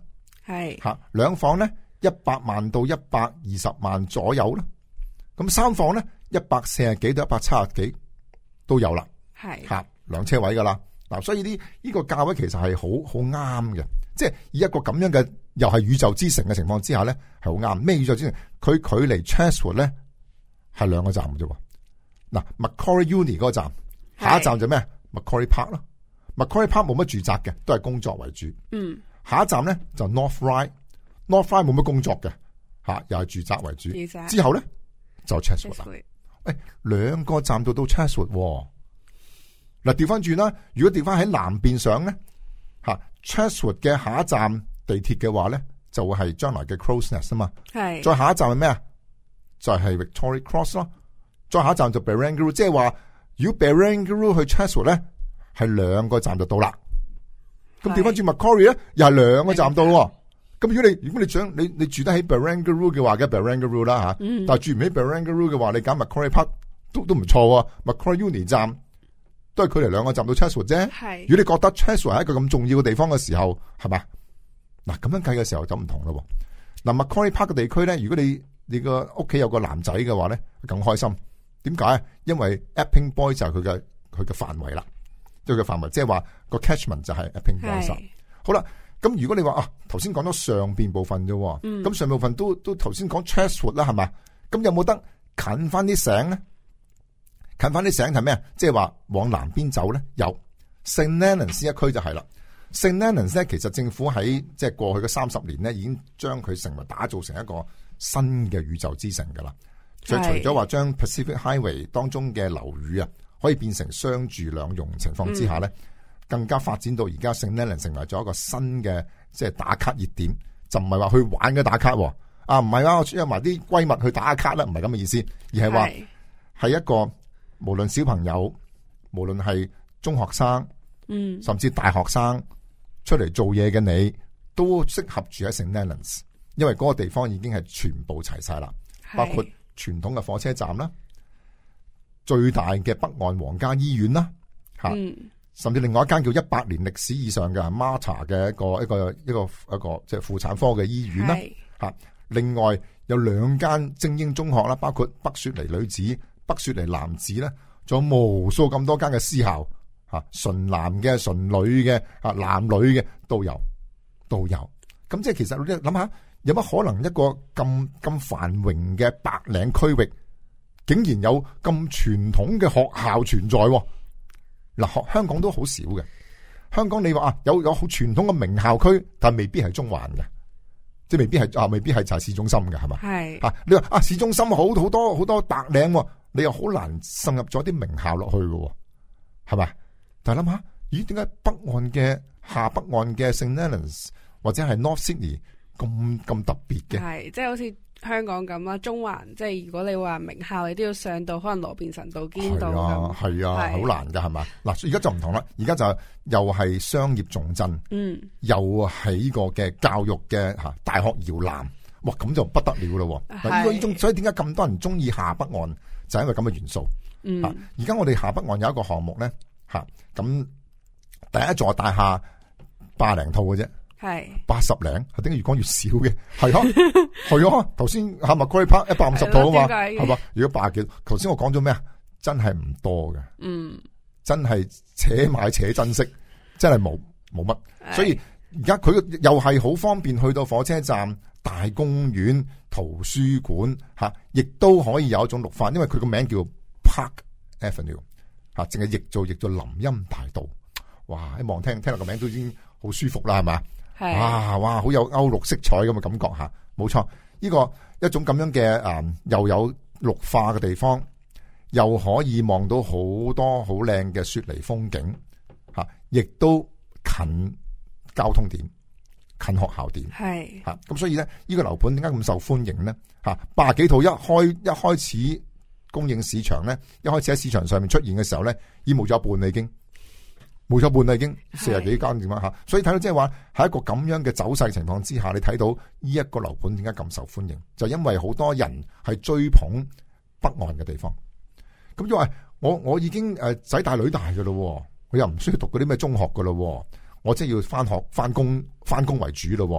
[SPEAKER 1] 係
[SPEAKER 2] 吓兩房咧一百萬到一百二十萬左右啦，咁三房咧一百四十幾到一百七十幾都有啦，係吓兩車位噶啦。嗱，所以呢呢個價位其實係好好啱嘅，即係以一個咁樣嘅又係宇宙之城嘅情況之下咧，係好啱。咩宇宙之城？佢距離 Chatswood 咧係兩個站嘅啫。嗱 Macquarie Uni 嗰個站，下一站就咩 Macquarie Park 咯。Macquarie Park 冇乜住宅嘅，都係工作為主。嗯，下一站咧就 North Ryde，North Ryde 冇乜工作嘅，吓又係住宅為主。之後咧就 Chatswood 啦。誒，兩個站到到 Chatswood。嗱，調翻轉啦，如果調翻喺南邊上咧，吓 Chatswood 嘅下一站地鐵嘅話咧，就會係將來嘅 Crows Nest 啊嘛。係。再下一站係咩啊？就係、是、Victoria Cross 咯。再下一站就 Barangaroo， 即係話如果 Barangaroo 去 Chatswood 咧，係兩個站就到啦。咁調翻轉 Macquarie 咧，又係兩個站到。咁如果你如果你想你你住得喺 Barangaroo 嘅話，嘅 Barangaroo 啦吓。嗯。但係住唔喺 Barangaroo 嘅話，你揀 Macquarie Park 都都唔錯啊。Macquarie Uni 站都係距離兩個站到 Chatswood 啫。係。如果你覺得 Chatswood 係一個咁重要嘅地方嘅時候，係嘛？嗱，咁樣計嘅時候就唔同咯。嗱 Macquarie Park 嘅地區咧，如果你你個屋企有個男仔嘅話咧，更開心。點解？因為 Epping Boy 就係佢嘅佢嘅範圍啦，即係佢範圍，即係話個 catchment 就係 Epping Boy。好啦，咁如果你話啊，頭先講咗上邊部分啫，咁、嗯、上部分都都頭先講 Chatswood 啦，係嘛？咁有冇得近翻啲醒咧？近翻啲醒係咩啊？即係話往南邊走咧，有 Saint Leonards 一區就係啦。Saint Leonards 咧，其實政府喺即係過去嘅三十年咧，已經將佢成為打造成一個新嘅宇宙之城噶啦。所以除咗話將 Pacific Highway 當中嘅樓宇啊，可以變成商住兩用情況之下咧、嗯，更加發展到而家 Saint Leonards 成為咗一個新嘅即係打卡熱點，就唔係話去玩嘅打卡，啊唔係啦，我約埋啲閨蜜去打卡啦，唔係咁嘅意思，而係話係一個無論小朋友，無論係中學生，嗯，甚至大學生出嚟做嘢嘅你，都適合住喺 Saint Leonards， 因為嗰個地方已經係全部齊晒啦，包括傳統嘅火車站啦，最大嘅北岸皇家醫院啦，吓、嗯，甚至另外一間叫一百年歷史以上嘅 Mater 嘅一個一個一個一個即係婦產科嘅醫院啦，吓，另外有兩間精英中學啦，包括北雪梨女子、北雪梨男子咧，仲有無數咁多間嘅私校，吓，純男嘅、純女嘅、啊男女嘅都有，都有。咁即係其實你諗下。有乜可能一個咁咁繁榮嘅白領區域，竟然有咁傳統嘅學校存在？嗱，學香港都好少嘅。香港你話啊，有有好傳統嘅名校區，但係未必係中環嘅，即係未必係啊，未必係就係市中心嘅，係嘛？係啊，你話啊，市中心好好多好多白領，你又好難滲入咗啲名校落去嘅，係咪？但係諗下，咦？點解北岸嘅下北岸嘅 Saint Leonards 或者係 North Sydney？咁咁特別嘅，係
[SPEAKER 1] 即係好似香港咁啦，中環即係如果你話名校，你都要上到可能羅便臣道、堅道咁，
[SPEAKER 2] 係啊，好難噶係嘛？嗱，而家就唔同啦，而家就又係商業重鎮，嗯，又係呢個嘅教育嘅吓大學搖籃，哇，咁就不得了咯。嗱，呢個呢種，所以點解咁多人中意下北岸，就係因為咁嘅元素。嗯，而家我哋下北岸有一個項目咧，吓咁第一座大廈百零套嘅啫。係八十零，係點解越講越少嘅？係啊，係啊，頭先係咪 Macquarie Park 一百五十套啊嘛，係嘛？如果百幾，頭先我講咗咩啊？真係唔多嘅，嗯，真係且買且珍惜，真係冇冇乜。所以而家佢又係好方便去到火車站、大公園、圖書館吓，亦都可以有一種綠化，因為佢個名叫 Park Avenue 吓，淨係譯做譯做林蔭大道。哇！一望聽聽落個名都已經好舒服啦，係嘛？哇哇，好有歐陸色彩咁嘅感覺吓，冇錯。呢個一種咁樣嘅誒，又有綠化嘅地方，又可以望到好多好靚嘅雪梨風景吓，亦都近交通點、近學校點，係吓。咁所以咧，呢個樓盤點解咁受歡迎咧？吓，八十幾套一開一開始供應市場咧，一開始喺市場上面出現嘅時候咧，已經冇咗一半啦，已經。冇咗半啦，已經四十幾間點樣吓，所以睇到即係話喺一個咁樣嘅走勢情況之下，你睇到呢一個樓盤點解咁受歡迎，就因為好多人係追捧北岸嘅地方。咁因為我我已經誒仔大女大噶咯，我又唔需要讀嗰啲咩中學噶咯，我即係要翻學翻工翻工為主咯。咁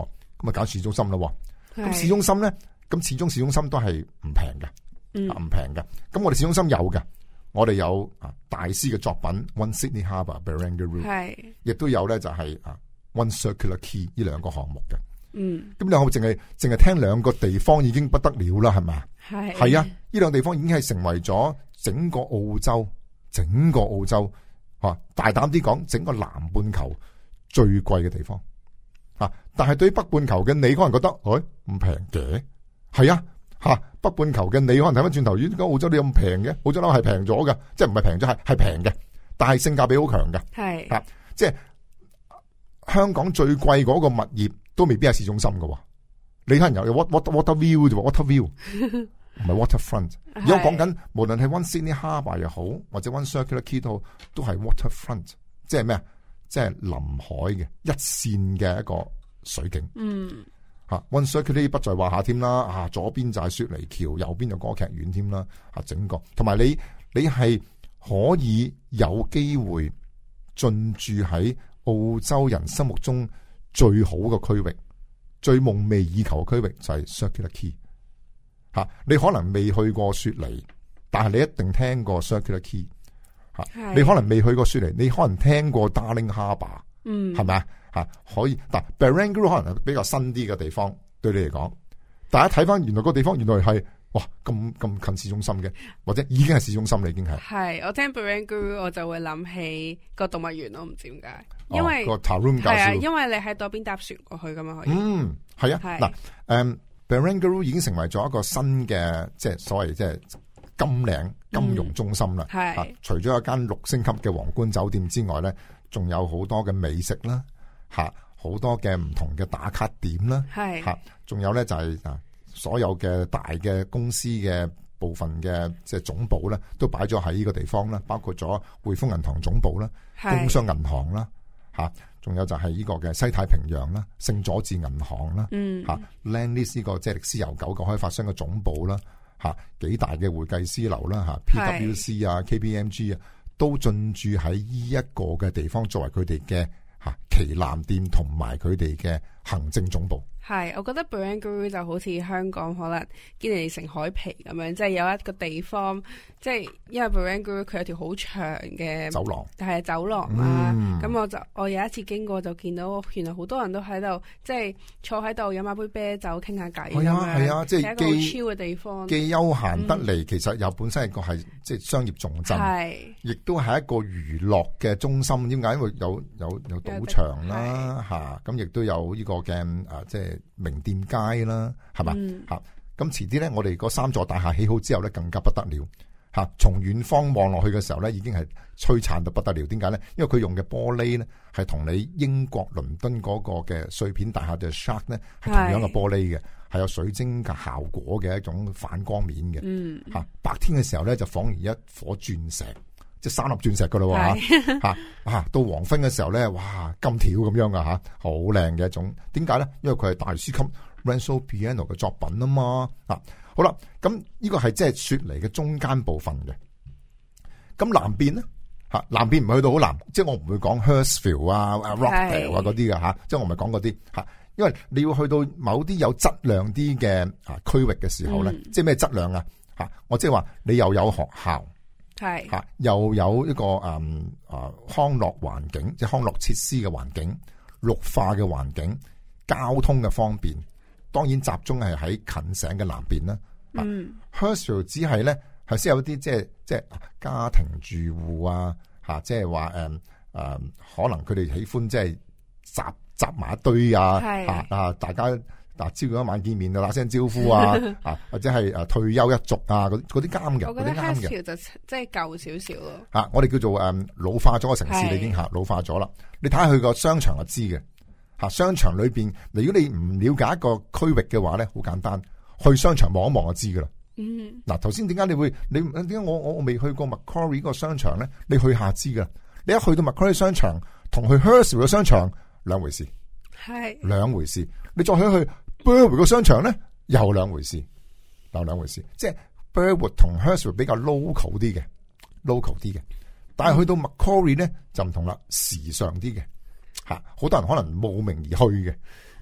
[SPEAKER 2] 咁啊揀市中心咯。咁市中心咧，咁始終市中心都係唔平嘅，唔平嘅。咁我哋市中心有嘅，我哋有啊大師嘅作品 One Sydney Harbour Barangaroo， 係，亦都有咧就係啊 One Circular Quay 呢兩個項目嘅。嗯，咁你可唔可以淨係淨係聽兩個地方已經不得了啦，係咪？係係啊，呢兩個地方已經係成為咗整個澳洲，整個澳洲啊，大膽啲講，整個南半球最貴嘅地方啊！但係對於北半球嘅你，可能覺得，誒唔平嘅，係啊吓、啊，北半球嘅你可能睇翻轉頭，點解澳洲你咁平嘅？澳洲樓係平咗嘅，即係唔係平咗，係係平嘅，但係性價比好強嘅，係啊，即係香港最貴嗰個物業。都未必係市中心嘅，你可能有 water water view 啫，water view 唔係 waterfront。而家講緊無論係 One Sydney Harbour 又好，或者 One Circular Quay 都好，都係 waterfront， 即係咩啊？即係臨海嘅一線嘅一個水景。嗯，吓 One Circular Quay 不在話下添啦，啊左邊就係雪梨橋，右邊就歌劇院添啦，啊整個同埋你你係可以有機會進駐喺澳洲人心目中最好嘅區域，最夢寐以求嘅區域就係 Circular Quay 吓。你可能未去過雪梨，但係你一定聽過 Circular Quay 吓。你可能未去過雪梨，你可能聽過 Darling Harbour， 嗯，係咪啊吓？可以，但 Barangaroo 可能係比較新啲嘅地方，對你嚟講，大家睇翻原來個地方原來係哇咁咁近市中心嘅，或者已經係市中心啦，已經係。係我聽 Barangaroo 我就會諗起個動物園咯，唔知點解。因為、哦、個 Taroom 係啊，因為你喺嗰邊搭船過去噶嘛，可以。嗯，係啊。嗱，誒 Barangaroo 已經成為咗一個新嘅，即係所謂即係金嶺金融中心啦。係、嗯啊。除咗一間六星級嘅皇冠酒店之外咧，仲有好多嘅美食啦，吓、啊、好多嘅唔同嘅打卡點啦。係。吓、啊，仲有咧就係、是、啊，所有嘅大嘅公司嘅部分嘅即係總部咧，都擺咗喺呢個地方啦，包括咗匯豐銀行總部啦、工商銀行啦。吓，仲有就係呢個嘅西太平洋啦、聖佐治銀行啦，嗯，吓 Lendlease 呢個即係歷史悠久嘅開發商嘅總部啦，吓幾大嘅會計師樓啦，吓 P W C 啊、K P M G 啊，都進駐喺呢一個嘅地方，作為佢哋嘅吓旗艦店同埋佢哋嘅行政總部。係，我覺得 Barangaroo 就好似香港可能堅尼城海皮咁樣，即係有一個地方，即係因為 Barangaroo 佢有條好長嘅走廊，係走廊啦。咁、嗯、我就我有一次經過就見到，原來好多人都喺度，即係坐喺度飲下杯啤酒傾下偈。係啊係啊，即係一個好 chill 嘅地方，既休閒得嚟、嗯，其實又本身係個係即係商業重鎮，係，亦都係一個娛樂嘅中心。點解？因為有有有賭場啦，吓咁亦都有呢個嘅啊，即係。名店街啦，係嘛吓？咁遲啲咧，我哋嗰三座大廈起好之後咧，更加不得了吓。從遠方望落去嘅時候咧，已經係璀璨到不得了。點解咧？因為佢用嘅玻璃咧，係同你英國倫敦嗰個嘅碎片大廈嘅 Shark 咧，係同樣嘅玻璃嘅，係有水晶嘅效果嘅一種反光面嘅。嗯，吓白天嘅時候咧，就仿如一顆鑽石。即係三粒鑽石噶咯喎吓，啊到黃昏嘅時候咧，哇金條咁樣噶吓，好靚嘅一種。點解咧？因為佢係大師級 Renzo Piano 嘅作品啊嘛。啊好啦，咁呢個係即係雪梨嘅中間部分嘅。咁南邊咧吓，南邊唔去到好南，即係我唔會講 Hurstville 啊、Rockdale 啊嗰啲嘅吓，即係我唔係講嗰啲吓，因為你要去到某啲有質量啲嘅啊區域嘅時候咧、嗯，即係咩質量啊吓？我即係話你又有學校。係吓，又有一個誒啊、嗯、康樂環境，即係康樂設施嘅環境，綠化嘅環境，交通嘅方便，當然集中係喺近城嘅南邊啦。嗯 Hurstville 只係咧係先有啲即係即係家庭住戶啊吓，即係話誒誒，可能佢哋喜歡即係集集埋一堆啊吓啊，大家。嗱，朝早一晚見面就打聲招呼啊，啊或者係誒退休一族啊，嗰嗰啲啱嘅，嗰啲啱嘅。就即係舊少少咯。吓，我哋叫做誒老化咗嘅城市，你已經吓老化咗啦。你睇下佢個商場就知嘅。吓，商場裏邊，如果你唔了解一個區域嘅話咧，好簡單，去商場望一望就知噶啦。嗯。嗱，頭先點解你會你點解我我我未去過 Macquarie 個商場咧？你去下知噶。你一去到 Macquarie 商場，同去 Hurstville 嘅商場兩回事。係。兩回事。你再去去。Burwood 個商場咧又兩回事，又兩回事，即係 Burwood 同 Hurstville 比較 local 啲嘅 ，local 啲嘅，但係去到 Macquarie 咧就唔同啦，時尚啲嘅，吓，好多人可能慕名而去嘅。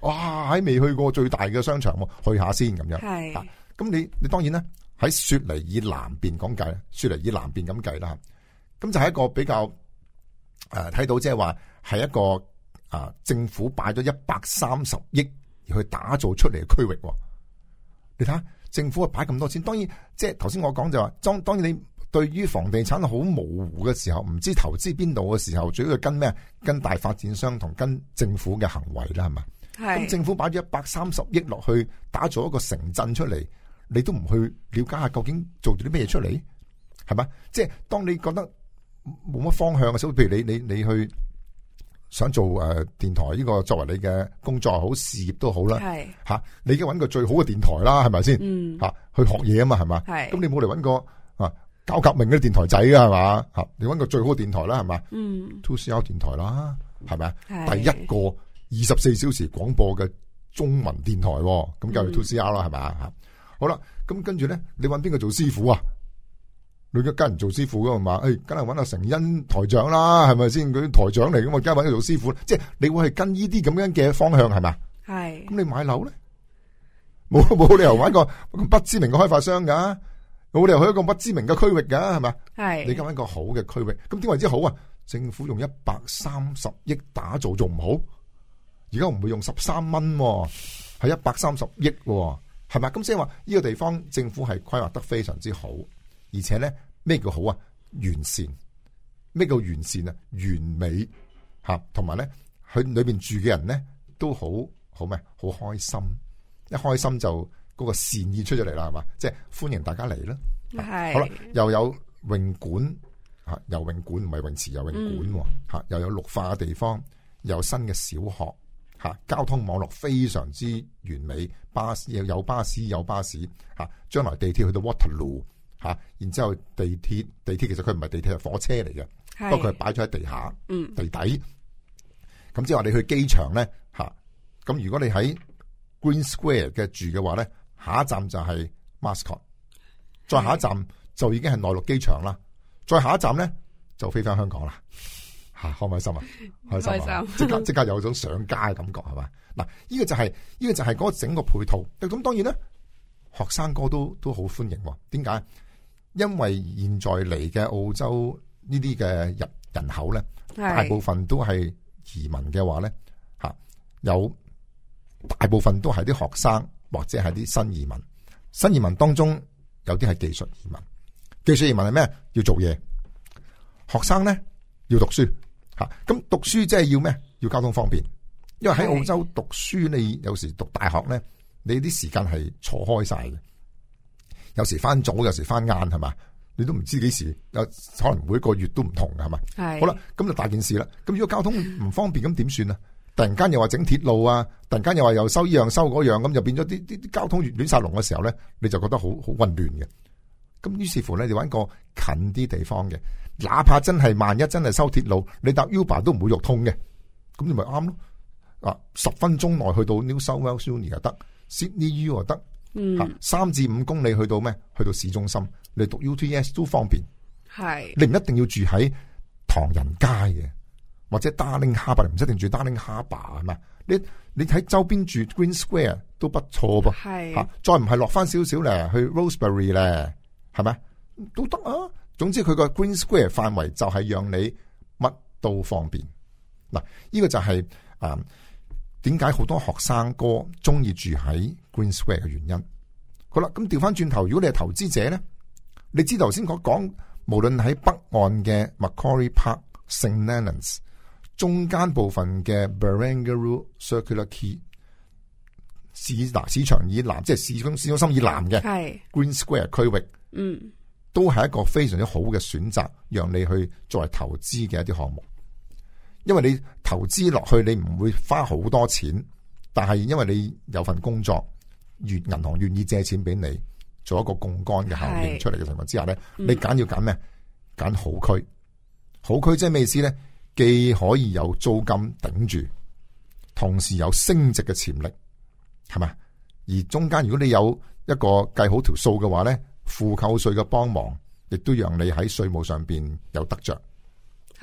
[SPEAKER 2] 哇，喺未去過最大嘅商場，去下先咁樣。係，咁、啊、你你當然咧喺雪梨以南邊講計，雪梨以南邊咁計啦。咁就係一個比較誒睇、呃、到即係話係一個啊、呃、政府擺咗一百三十億去打造出嚟嘅區域。你睇下政府擺咁多錢，當然即係頭先我講就話，當當然你對於房地產好模糊嘅時候，唔知投資邊度嘅時候，主要跟咩？跟大發展商同跟政府嘅行為啦，係嘛？係。咁政府擺咗一百三十億落去打造一個城鎮出嚟，你都唔去了解下究竟做咗啲咩嘢出嚟，係嘛？即係當你覺得冇乜方向嘅時候，譬如你你你去想做誒、呃、電台呢個作為你嘅工作好事業都好啦，係吓、啊，你而家揾個最好嘅電台啦，係咪先？嗯，吓、啊、去學嘢啊嘛，係嘛？係。咁你冇嚟揾個啊搞革命嘅電台仔啊，係嘛？吓，你揾個最好嘅電台啦，係嘛？嗯 two C R 電台啦，係咪啊？第一個二十四小時廣播嘅中文電台，咁就係 two C R 啦，係咪啊？好啦，咁跟住咧，你揾邊個做師傅啊？你而家跟人做師傅噶嘛？誒，梗係揾阿成恩台長啦，係咪先？佢台長嚟噶嘛，梗係揾佢做師傅。即係你會係跟呢啲咁樣嘅方向，係咪？係。咁你買樓咧，冇冇理由揾個不知名嘅開發商噶，冇理由去一個不知名嘅區域噶，係咪？係。你而家揾個好嘅區域，咁點為之好啊？政府用一百三十億打造仲唔好？而家唔會用十三蚊，係一百三十億，係咪？咁即係話呢個地方政府係規劃得非常之好。而且咧，咩叫好啊？完善，咩叫完善啊？完美吓，同埋咧，佢裏邊住嘅人咧都好好咩？好開心，一開心就嗰個善意出咗嚟啦，係嘛？即係歡迎大家嚟啦。係好啦，又有泳館吓，游泳館唔係泳池，游泳館吓，嗯、又有綠化嘅地方，又有新嘅小學吓，交通網絡非常之完美，巴士又有巴士有巴士吓，將來地鐵去到 Waterloo。吓，然之後地鐵地鐵其實佢唔係地鐵，係火車嚟嘅，不過佢係擺咗喺地下、嗯、地底。咁即係話你去機場咧吓，咁如果你喺 Green Square 嘅住嘅話咧，下一站就係 Mascot， 再下一站就已經係內陸機場啦，再下一站咧就飛翻香港啦。吓，開唔開心啊？開心啊！即刻即刻有種上家嘅感覺，係嘛？嗱，呢個就係、是、呢、這個就係嗰個整個配套。咁當然咧，學生哥都都好歡迎。點解？因為現在嚟嘅澳洲呢啲嘅人人口咧，大部分都係移民嘅話咧，吓，有大部分都係啲學生或者係啲新移民。新移民當中有啲係技術移民，技術移民係咩？要做嘢。學生咧要讀書，吓，咁讀書即係要咩？要交通方便。因為喺澳洲讀書，你有時讀大學咧，你啲時間係錯開晒嘅。有時翻早，有時翻晏，係嘛？你都唔知幾時，有可能每一個月都唔同嘅，係嘛？係。好啦，咁就大件事啦。咁如果交通唔方便，咁點算啊？突然間又話整鐵路啊，突然間又話又收依樣收嗰樣，咁就變咗啲啲啲交通越亂晒龍嘅時候咧，你就覺得好好混亂嘅。咁於是乎咧，你揾個近啲地方嘅，哪怕真係萬一真係收鐵路，你搭 Uber 都唔會肉痛嘅，咁你咪啱咯。啊，十分鐘內去到 New South Wales Uni 又得 ，Sydney U 又得。嗯，三至五公里去到咩？去到市中心，你讀 U T S 都方便。係，你唔一定要住喺唐人街嘅，或者 Darling Harbour，唔一定住 Darling Harbour 係嘛？你你喺周邊住 Green Square 都不錯噃。係，吓、啊、再唔係落翻少少咧，去 Rosebery 咧，係咪都得啊？總之佢個 Green Square 範圍就係讓你乜都方便。嗱，呢個就係啊。點解好多學生哥中意住喺 Green Square 嘅原因？好啦，咁調翻轉頭，如果你係投資者咧，你知頭先講講，無論喺北岸嘅 Macquarie Park、Saint Leonards， 中間部分嘅 Barangaroo Circular Quay， 市嗱市場以南，即係市中市中心以南嘅 Green Square 區域，嗯，都係一個非常之好嘅選擇，讓你去作為投資嘅一啲項目。因為你投資落去，你唔會花好多錢，但係因為你有份工作，越銀行願意借錢俾你，做一個槓桿嘅效應出嚟嘅情況之下咧，你揀要揀咩？揀好區，好區即係咩意思咧？既可以有租金頂住，同時有升值嘅潛力，係咪？而中間如果你有一個計好條數嘅話咧，負扣稅嘅幫忙，亦都讓你喺稅務上邊有得着。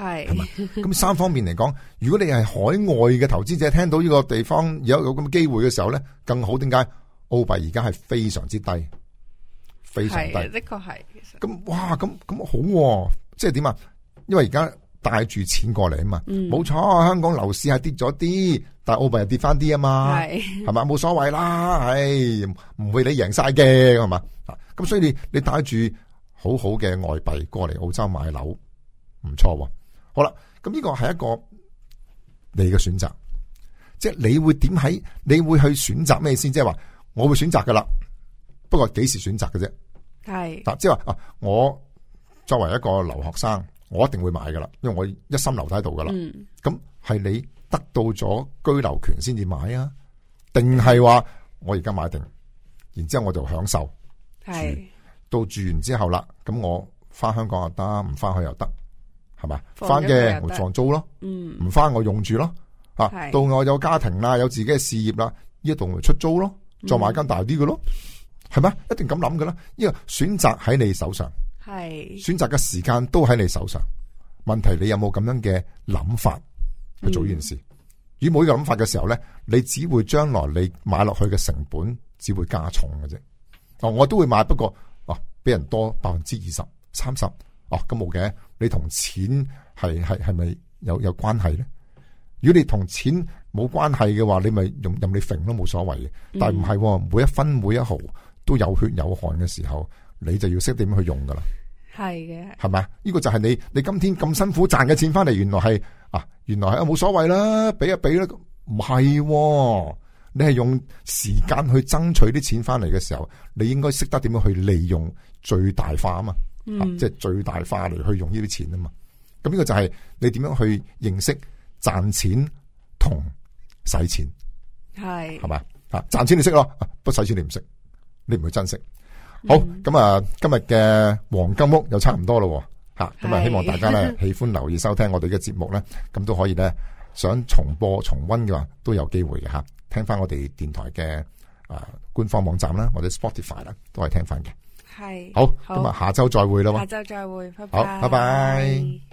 [SPEAKER 1] 係
[SPEAKER 2] 係嘛？咁三方面嚟講，如果你係海外嘅投資者，聽到呢個地方有有咁嘅機會嘅時候咧，更好。點解？澳幣而家係非常之低，非常低，
[SPEAKER 1] 的確係。
[SPEAKER 2] 咁哇，咁咁好，即係點啊？因為而家帶住錢過嚟啊嘛，冇錯、嗯。香港樓市係跌咗啲，但係澳幣又跌翻啲啊嘛，係係嘛，冇所謂啦，唉，唔會你贏晒嘅係嘛。咁所以你你帶住好好嘅外幣過嚟澳洲買樓，唔錯。好啦，咁呢個係一個你嘅選擇，即係你會點喺？你會去選擇咩先？即係話我會選擇噶啦，不過幾時選擇嘅啫？係嗱，即係話啊，我作為一個留學生，我一定會買噶啦，因為我一心留喺度噶啦。咁、嗯、係你得到咗居留權先至買啊，定係話我而家買定，然之後我就享受住，到住完之後啦，咁我翻香港又得，唔翻去又得，係咪？翻嘅我放租咯，唔翻我用住咯。啊，到我有家庭啦，有自己嘅事業啦，呢一度咪出租咯，再買間大啲嘅咯。係咪？一定咁諗㗎啦。呢個選擇喺你手上，係選擇嘅時間都喺你手上。問題你有冇咁樣嘅諗法去做呢件事？嗯、如果冇呢個諗法嘅時候咧，你只會將來你買落去嘅成本只會加重嘅啫。哦，我都會買，不過哦，比人多百分之二十、三十。哦，咁冇嘅。你同錢係係係咪有有關係咧？如果你同錢冇關係嘅話，你咪用任你揈都冇所謂嘅。但係唔係，每一分每一毫都有血有汗嘅時候，你就要識點樣去用噶啦。係嘅，係咪？呢、這個就係你你今天咁辛苦賺嘅錢翻嚟，原來係啊，原來係啊冇所謂啦，俾一俾啦。唔係，你係用時間去爭取啲錢翻嚟嘅時候，你應該識得點樣去利用最大化啊嘛，嗯啊、即係最大化嚟去用呢啲錢啊嘛。咁呢個就係你點樣去認識賺錢同使錢，係係咪啊？賺錢你識咯，不使錢你唔識。你唔會珍惜。好，咁、嗯、啊，今日嘅黃金屋又差唔多咯，吓，咁啊，希望大家咧喜歡留意收聽我哋嘅節目咧，咁都可以咧，想重播重溫嘅話都有機會嘅吓，聽翻我哋電台嘅啊官方網站啦，或者 Spotify 啦，都係聽翻嘅。係，好，咁啊，下周再會啦，下周再會，拜拜，好，拜拜。